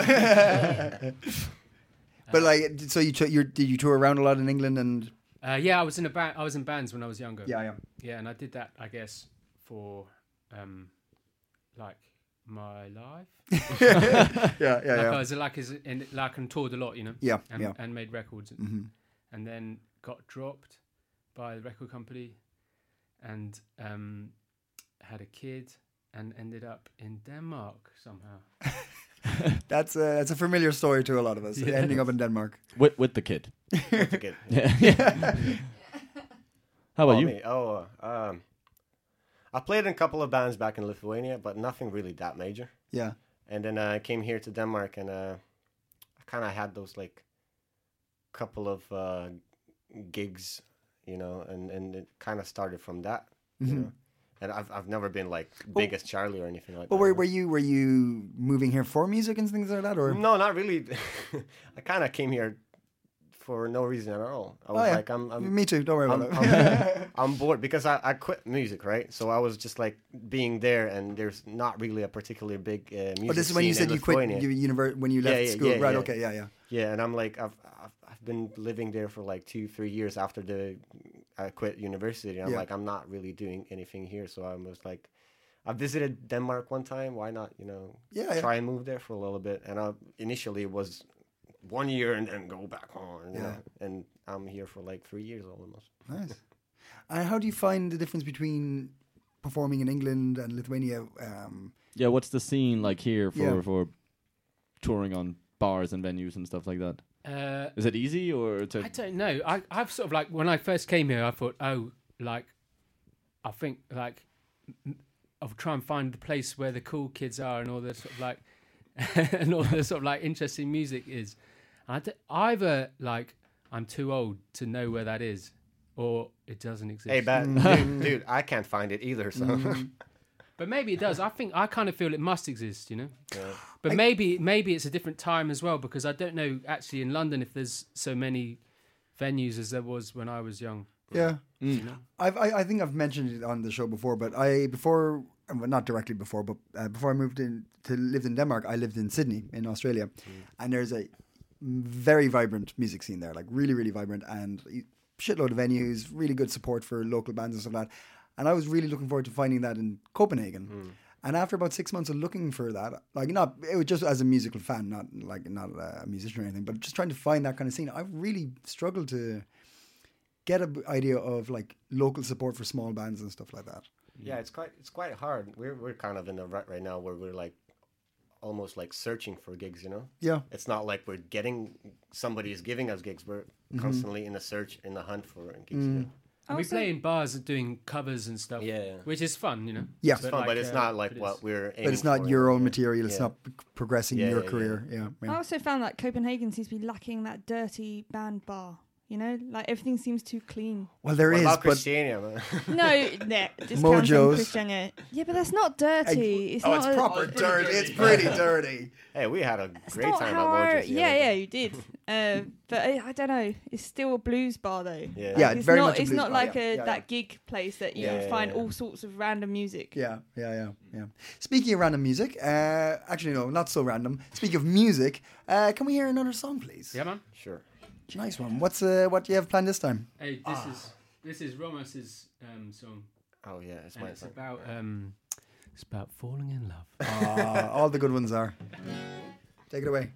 But like, so did you tour around a lot in England and? Yeah, I was in a band. I was in bands when I was younger. Yeah, and I did that, I guess, for like my life. I was and toured a lot, and made records, and then got dropped by the record company, and had a kid, and ended up in Denmark somehow. That's a familiar story to a lot of us. Ending up in Denmark with the kid. With the kid. How about you? Me? I played in a couple of bands back in Lithuania, but nothing really that major. Yeah. And then I came here to Denmark, and I kind of had those like couple of gigs, and it kind of started from that. And I've never been like big as Charlie or anything like that. But were you moving here for music and things like that, or? No, not really. I kind of came here for no reason at all. I was like, I'm. Me too. Don't worry about it. I'm bored because I quit music, right? So I was just like being there, and there's not really a particularly big music. Oh, this is when you said you quit when you left school, right? Yeah. Okay, yeah. Yeah, and I'm like, I've been living there for like 2-3 years after I quit university. I'm like, I'm not really doing anything here. So I was like, I visited Denmark one time. Why not, try and move there for a little bit? And initially it was 1 year and then go back home. And I'm here for like 3 years almost. Nice. And how do you find the difference between performing in England and Lithuania? What's the scene like here for touring on bars and venues and stuff like that? Is it easy or? I don't know. I've sort of like when I first came here, I thought, I think like I'll try and find the place where the cool kids are and all the sort of like and all the sort of like interesting music is. Either like I'm too old to know where that is, or it doesn't exist. Hey, dude, I can't find it either. So. But maybe it does. I kind of feel it must exist, Yeah. But maybe it's a different time as well, because I don't know actually in London if there's so many venues as there was when I was young. Yeah. I think I've mentioned it on the show before, but not directly before, but before I moved lived in Denmark, I lived in Sydney in Australia, and there's a very vibrant music scene there, like really, really vibrant, and shitload of venues, really good support for local bands and stuff like that. And I was really looking forward to finding that in Copenhagen. And after about 6 months of looking for that, it was just as a musical fan, not a musician or anything, but just trying to find that kind of scene, I really struggled to get an idea of like local support for small bands and stuff like that. Yeah, it's quite hard. We're kind of in a rut right now where we're like almost like searching for gigs, you know? Yeah. It's not like somebody is giving us gigs. We're constantly in the hunt for gigs. You know? And we play in bars and doing covers and stuff, which is fun, you know. Yeah, it's fun, but it's not like what we're aiming for. But it's not your own material. It's not progressing your career. Yeah. I also found that Copenhagen seems to be lacking that dirty band bar. You know, like everything seems too clean. Well, there is, but Christiania, just Mojo's. Christiania. Yeah, but that's not dirty. It's proper dirty. It's pretty dirty. Hey, we had a great time at Mojo's. Yeah, you did. But I don't know. It's still a blues bar though. Yeah, it's very not. much a It's blues not bar, like that gig place that you can find all sorts of random music. Yeah. Speaking of random music, actually no, not so random. Speaking of music, can we hear another song, please? Yeah, man. Sure. Nice one. What do you have planned this time? Hey, this is Romos's song. Oh yeah, it's my song. It's about falling in love. All the good ones are. Take it away.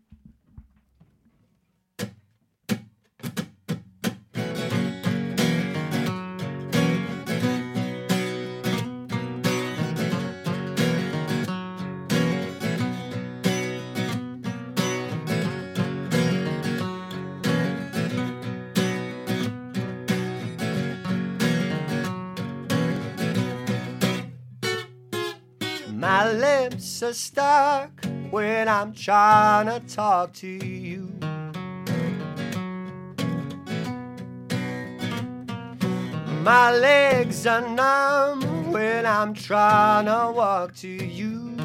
My lips are stuck when I'm trying to talk to you. My legs are numb when I'm trying to walk to you.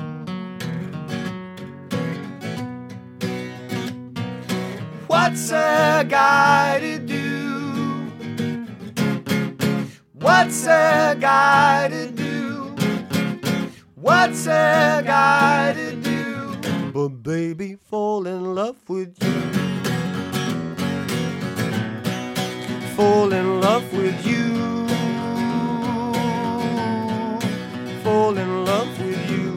What's a guy to do? What's a guy to do? What's a guy to do? But baby, fall in love with you. Fall in love with you. Fall in love with you.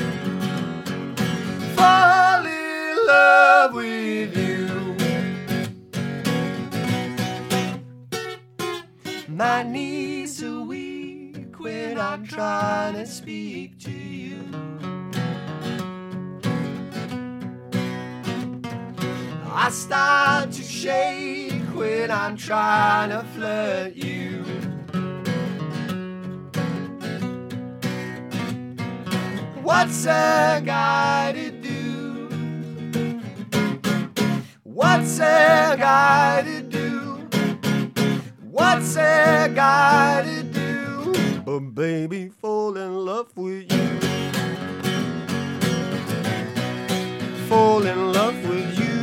Fall in love with you. My knees are weak when I'm trying to speak to you. I start to shake when I'm trying to flirt you. What's a guy to do? What's a guy to do? What's a guy to do? But baby, fall in love with you. Fall in love with you.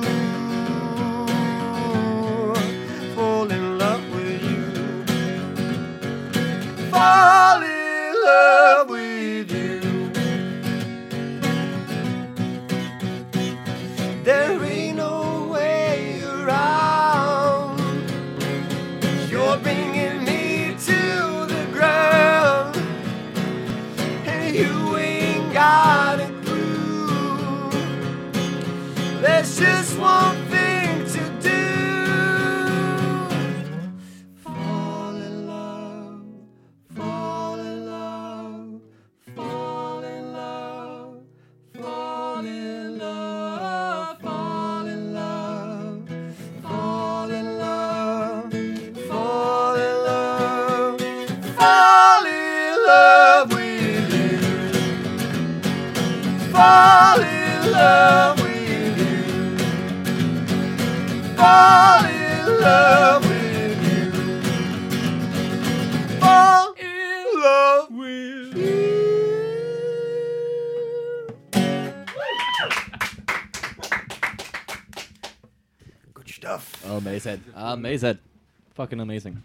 Fall in love with you. Fall in love with you. There ain't no way around. You're bringing me to the ground, and you ain't got a clue. There's just one thing to do. Fall in love, fall in love, fall in love, fall in love, fall in love, fall in love, fall in love, fall in love with you. Fall in love with you. Fall in love with you. Fall in love with you. Good stuff. Amazing. Amazing. Fucking amazing.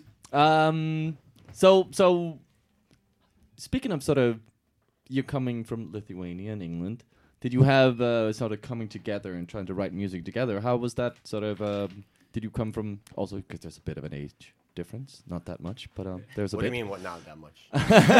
So speaking of sort of you coming from Lithuania and England, did you have sort of coming together and trying to write music together? How was that sort of? Did you come from also because there's a bit of an age difference, not that much, but there's a what bit. What do you mean? What not that much?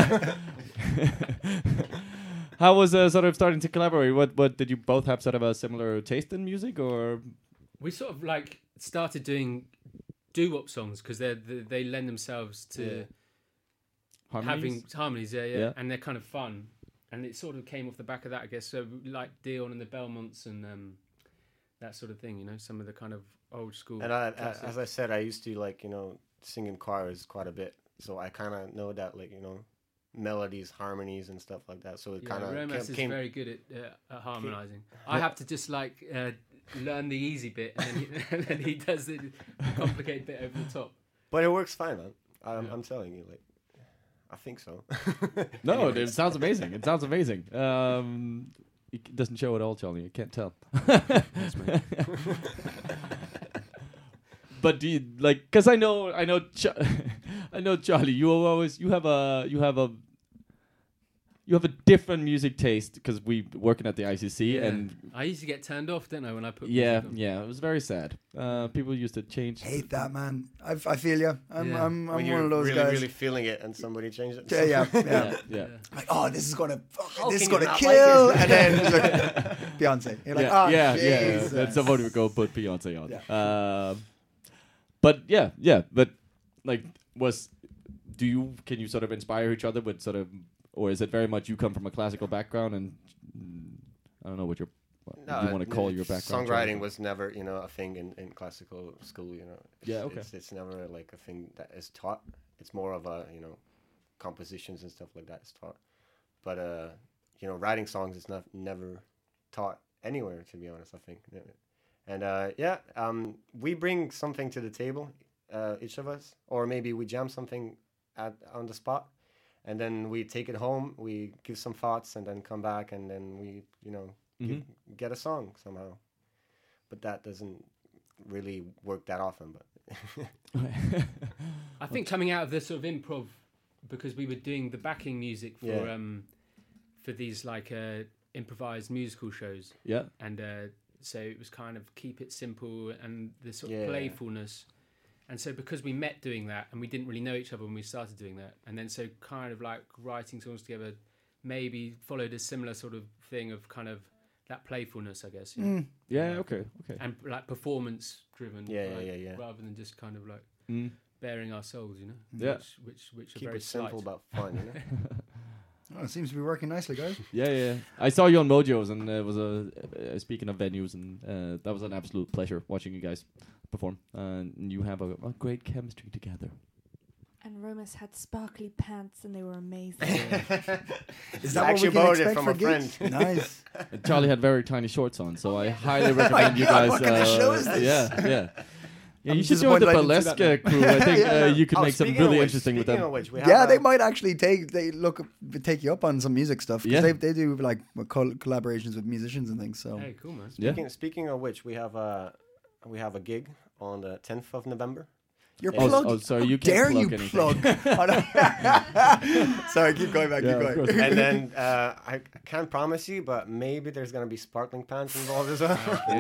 How was sort of starting to collaborate? What did you both have sort of a similar taste in music, or we sort of like started doing doo-wop songs because they lend themselves to having harmonies, yeah, and they're kind of fun, and it sort of came off the back of that, I guess. So like Dion and the Belmonts and that sort of thing, you know, some of the kind of old school. And as I said, I used to like, you know, sing in choirs quite a bit, so I kind of know that, like, you know, melodies, harmonies, and stuff like that. So it kind of Romas is very good at harmonizing. I have to just like learn the easy bit, and then he does the complicated bit over the top. But it works fine, man. I'm telling you, like, I think so. No, it sounds amazing. It sounds amazing. It doesn't show at all, Charlie. You can't tell. But do you like? Because I know, I know, Charlie. You have a different music taste because we working at the ICC, and I used to get turned off, didn't I, when I put music on? It was very sad. People used to change. Hate that, man. I feel you. I'm when one of those really, guys. Really feeling it, and somebody changed it. Yeah. Like, oh, this is gonna like kill, and then it's like, Beyonce. You're like, Jesus. Then somebody would go put Beyonce on. But like, can you sort of inspire each other with sort of, or is it very much you come from a classical background and I don't know what you want to call your background? Songwriting was never, you know, a thing in classical school, you know. It's never like a thing that is taught. It's more of a, you know, compositions and stuff like that is taught. But you know, writing songs is never taught anywhere, to be honest, I think. And we bring something to the table, each of us, or maybe we jam something on the spot, and then we take it home, we give some thoughts, and then come back, and then we, you know, get a song somehow. But that doesn't really work that often. But I think coming out of this sort of improv, because we were doing the backing music for these like improvised musical shows. Yeah. And so it was kind of keep it simple and the sort of playfulness. And so because we met doing that and we didn't really know each other when we started doing that, and then so kind of like writing songs together maybe followed a similar sort of thing of kind of that playfulness, I guess. You know? Okay. And like performance driven. Yeah. Rather than just kind of like bearing our souls, you know? Yeah. Which keep are very it simple but fun, you know? Oh, it seems to be working nicely, guys. Yeah. I saw you on Mojo's, and it was speaking of venues, and that was an absolute pleasure watching you guys perform. And you have a great chemistry together. And Romas had sparkly pants, and they were amazing. Is that what we can expect from a friend? Nice. And Charlie had very tiny shorts on, so I highly recommend you guys. What kind of show is this? Yeah, you should join the burlesque crew. I think you could make something really interesting with them. They might actually take you up on some music stuff, because they do like collaborations with musicians and things. So hey, cool, man. Speaking of which, we have a gig on the 10th of November. You're plugging. Sorry, you can't plug anything. Sorry, keep going back. Keep going. And then I can't promise you, but maybe there's gonna be sparkling pants involved as well.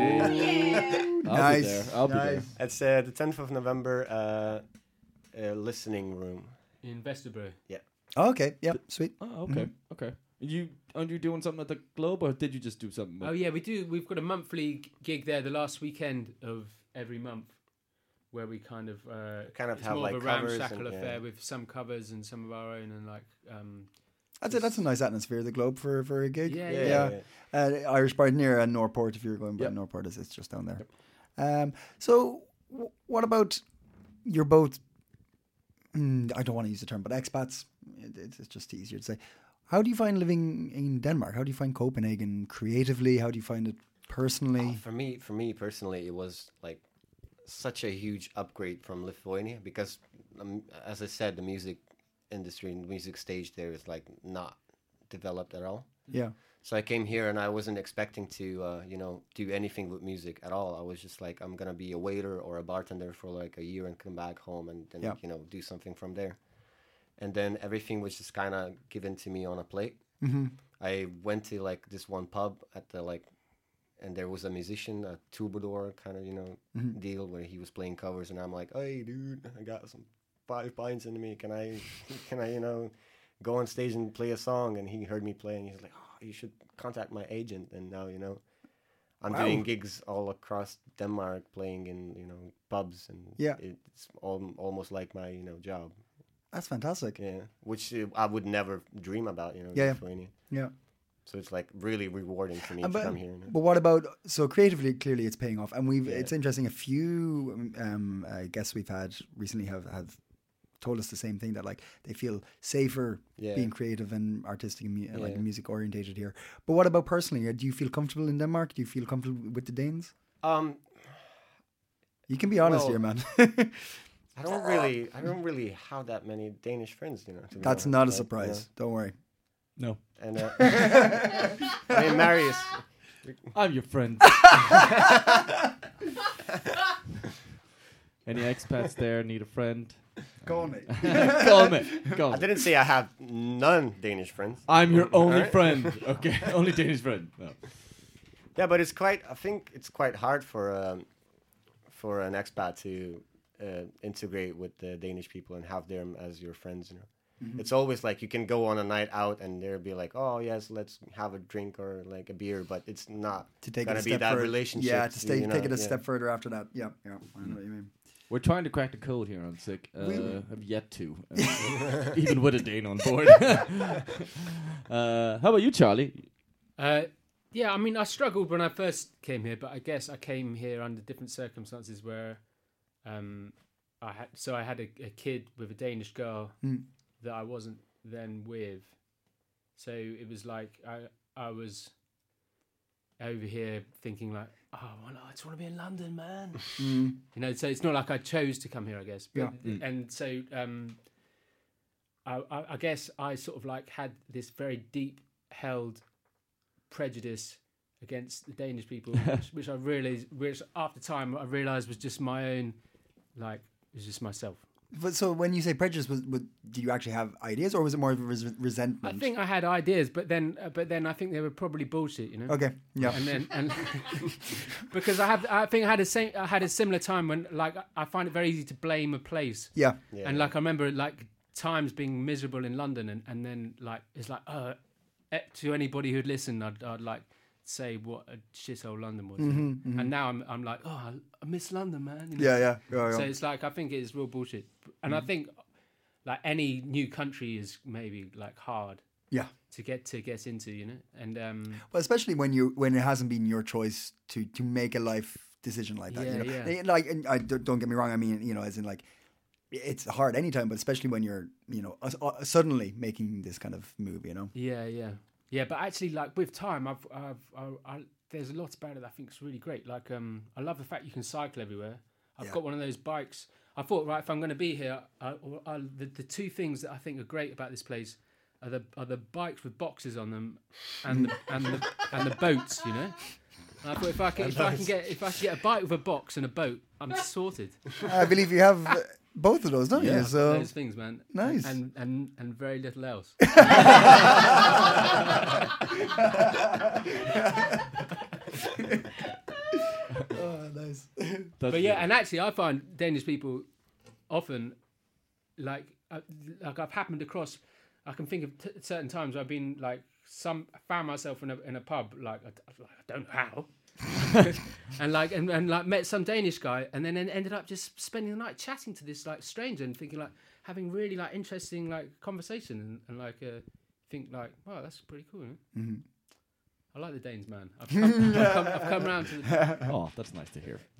Nice. I'll be there. It's the 10th of November. Listening room in Vesterbro. Yeah. Oh, okay. Yeah. Sweet. Oh, okay. Okay. Aren't you doing something at the Globe, or did you just do something? Oh yeah, we do. We've got a monthly gig there, the last weekend of every month, where we kind of have more like of a covers ramshackle affair with some covers and some of our own, and like that's a nice atmosphere, the Globe, for a gig. Yeah. Irish Bar near Northport, if you're going by Northport, it's just down there. Yep. So what about, you're both, I don't want to use the term, but expats, it's just easier to say. How do you find living in Denmark? How do you find Copenhagen creatively? How do you find it personally? For me personally, it was like such a huge upgrade from Lithuania, because as I said, the music industry and the music stage there is like not developed at all. Yeah. So I came here and I wasn't expecting to, do anything with music at all. I was just like, I'm going to be a waiter or a bartender for like a year and come back home and then, do something from there. And then everything was just kind of given to me on a plate. Mm-hmm. I went to like this one pub at the and there was a musician, a troubadour kind of, deal where he was playing covers. And I'm like, hey, dude, I got some 5 pints into me. Can I, go on stage and play a song? And he heard me play and he's like, oh, you should contact my agent. And now, I'm doing gigs all across Denmark, playing in, pubs. And it's almost like my, job. That's fantastic. Yeah, which I would never dream about, Lithuania. Yeah. So it's like really rewarding for me to come here. But what about, so creatively, clearly it's paying off. And it's interesting, a few guests we've had recently have told us the same thing, that like they feel safer being creative and artistic and like music orientated here. But what about personally? Do you feel comfortable in Denmark? Do you feel comfortable with the Danes? You can be honest here, man. I don't really have that many Danish friends, That's not a surprise. Don't worry. No. And I mean, Marius. I'm your friend. Any expats there need a friend? Go on, mate. Go on, mate. Go on. I didn't say I have none Danish friends. I'm your only friend. Okay, only Danish friend. No. Yeah, but I think it's quite hard for an expat to integrate with the Danish people and have them as your friends, Mm-hmm. It's always like you can go on a night out and they'll be like, oh yes, let's have a drink or like a beer, but it's not gonna be that relationship. Yeah, take it a step further after that. Yeah, I know what you mean. We're trying to crack the code here on Sick. Have yet to, even with a Dane on board. How about you, Charlie? Yeah, I mean, I struggled when I first came here, but I guess I came here under different circumstances where I had a kid with a Danish girl that I wasn't then with. So it was like I was over here thinking like, oh, well, I just want to be in London, man. So it's not like I chose to come here, I guess. But, and so I guess I sort of like had this very deep held prejudice against the Danish people, which after time I realised was just my own, like, it was just myself. But so when you say prejudice, did you actually have ideas, or was it more of a resentment? I think I had ideas, but then I think they were probably bullshit, Okay, yeah. And because I think I had a similar time when like I find it very easy to blame a place. Yeah. And like I remember like times being miserable in London, and then like it's like to anybody who'd listen, I'd like say what a shithole London was, and now I'm like, oh, I miss London, man. Yeah. So it's like I think it's real bullshit, and I think like any new country is maybe like hard, to get into, and well, especially when it hasn't been your choice to make a life decision like that. Like, and don't get me wrong. I mean, as in like, it's hard anytime, but especially when you're suddenly making this kind of move. Yeah, but actually, like with time, I've there's a lot about it that I think is really great. Like, I love the fact you can cycle everywhere. I've got one of those bikes. I thought, right, if I'm going to be here, the two things that I think are great about this place are the bikes with boxes on them, and the boats. And I thought if I can get a bike with a box and a boat, I'm sorted. I believe you have. Both of those, don't you? So those things, man. Nice. And very little else. Oh, nice. But yeah, and actually, I find Danish people often like I've happened across. I can think of certain times where I've been like found myself in a pub, like I don't know how. and like met some Danish guy, and then ended up just spending the night chatting to this like stranger and thinking like having really like interesting like conversation and like think like, wow, that's pretty cool. I like the Danes, man. I've come around to the... Oh, that's nice to hear.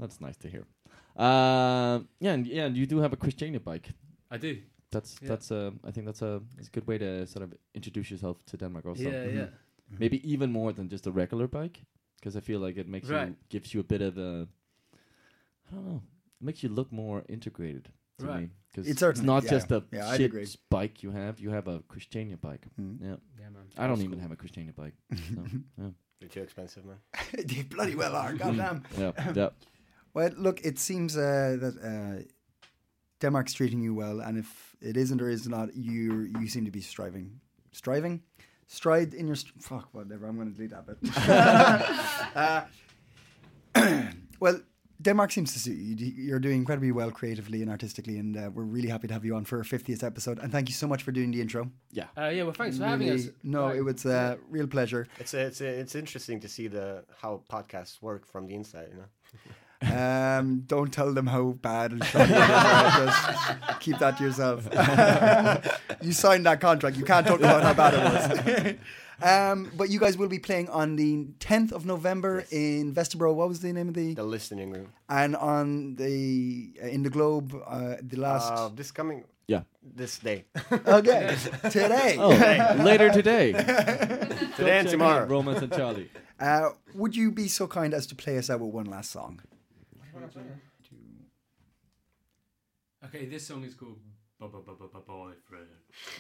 And you do have a Christiania bike. I do. That's I think that's a good way to sort of introduce yourself to Denmark also. Yeah. Maybe even more than just a regular bike. Because I feel like it makes gives you a bit of a, I don't know, it makes you look more integrated. to me. It's not just a shit bike you have. You have a Christiania bike. Yeah, man. I don't even have a Christiania bike. So, yeah. They're too expensive, man. They bloody well are. Goddamn. Yeah. Well, look, it seems that Denmark's treating you well, and if it isn't or is not, you seem to be stride in your fuck whatever. I'm going to delete that bit. Well, Denmark seems to suit you. You're doing incredibly well creatively and artistically, and we're really happy to have you on for our 50th episode. And thank you so much for doing the intro. Yeah. Well, thanks for having us. No, it was a real pleasure. It's interesting to see how podcasts work from the inside, you know. Don't tell them how bad and shitty it is. Just keep that to yourself. You signed that contract. You can't talk about how bad it was. But you guys will be playing on the 10th of November in Vesterbro. What was the name of the listening room? And on in the Globe, the last this day. Okay, today. Later today. Today and tomorrow. Romance and Charlie. Would you be so kind as to play us out with one last song? Okay, this song is called Boyfriend.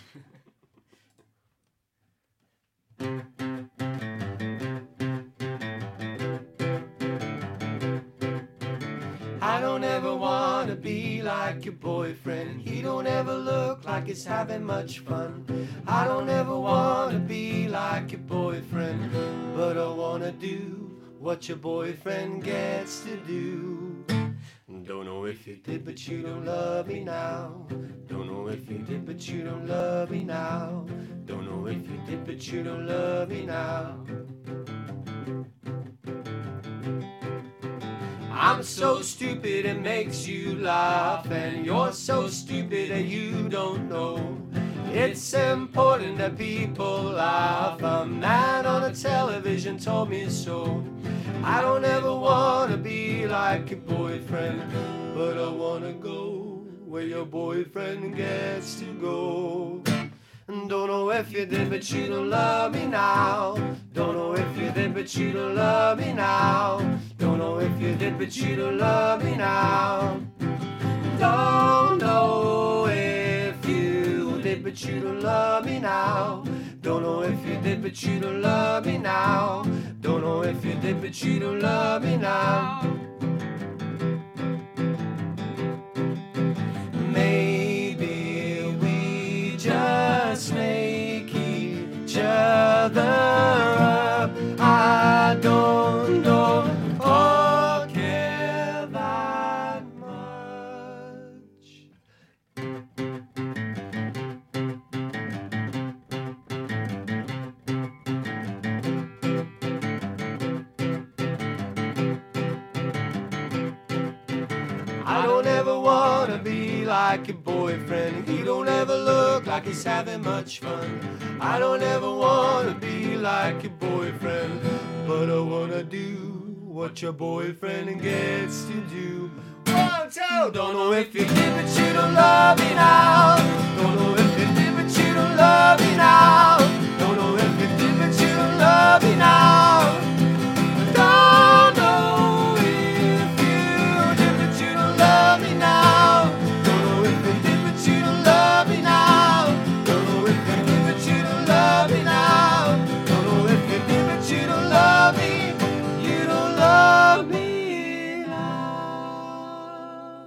I don't ever wanna be like your boyfriend. He don't ever look like he's having much fun. I don't ever wanna be like your boyfriend, but I wanna do what your boyfriend gets to do. Don't know if you did, but you don't love me now. Don't know if you did, but you don't love me now. Don't know if you did, but you don't love me now. I'm so stupid it makes you laugh, and you're so stupid that you don't know. It's important that people laugh. A man on the television told me so. I don't ever wanna be like your boyfriend, but I wanna go where your boyfriend gets to go. Don't know if you did, but you don't love me now. Don't know if you did, but you don't love me now. Don't know if you did, but you don't love me now. Don't know if you did, but you don't love me now. Don't know if you did, but you don't love me now. Don't know if you did, but you don't love me now. Maybe we just make each other up. I don't know or care that much. I don't ever wanna be like your boyfriend. He don't ever look like he's having much fun. I don't ever wanna be like your boyfriend, but I wanna do what your boyfriend gets to do. 1, 2, don't know if you did, but you don't love me now. Don't know if you did, but you don't love me now. Don't know if you did, but you don't love me now. Don't know if you did, but you don't love me now. Don't know if you did, but you don't love me now. Don't know if you did, but you don't love me now. Don't know if you did, but you don't love me. You don't love me now.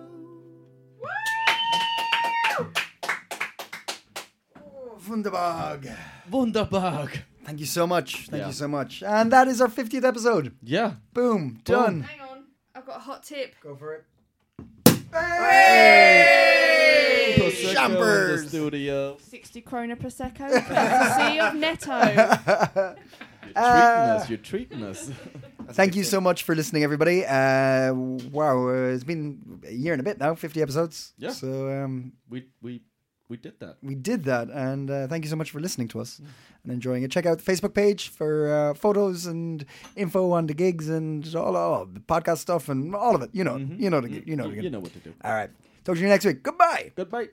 Wunderbar. Thank you so much. Thank you so much. And that is our 50th episode. Yeah. Boom. Done. Hang on. I've got a hot tip. Go for it. Hey! Champers. Studio. 60 krona Prosecco, courtesy of Netto. You're treating us. Thank you so much for listening, everybody. Wow, it's been a year and a bit now, 50 episodes. Yeah. So we did that. We did that, and thank you so much for listening to us and enjoying it. Check out the Facebook page for photos and info on the gigs and all the podcast stuff and all of it. You know, you know what to do. All right. Talk to you next week. Goodbye. Goodbye.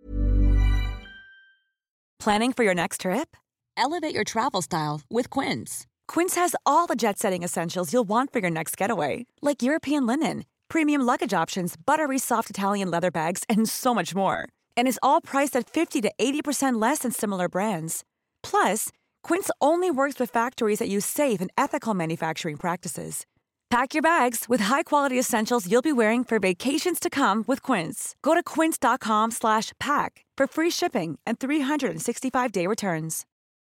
Planning for your next trip? Elevate your travel style with Quince. Quince has all the jet-setting essentials you'll want for your next getaway, like European linen, premium luggage options, buttery soft Italian leather bags, and so much more. And is all priced at 50 to 80% less than similar brands. Plus, Quince only works with factories that use safe and ethical manufacturing practices. Pack your bags with high-quality essentials you'll be wearing for vacations to come with Quince. Go to quince.com/pack for free shipping and 365-day returns.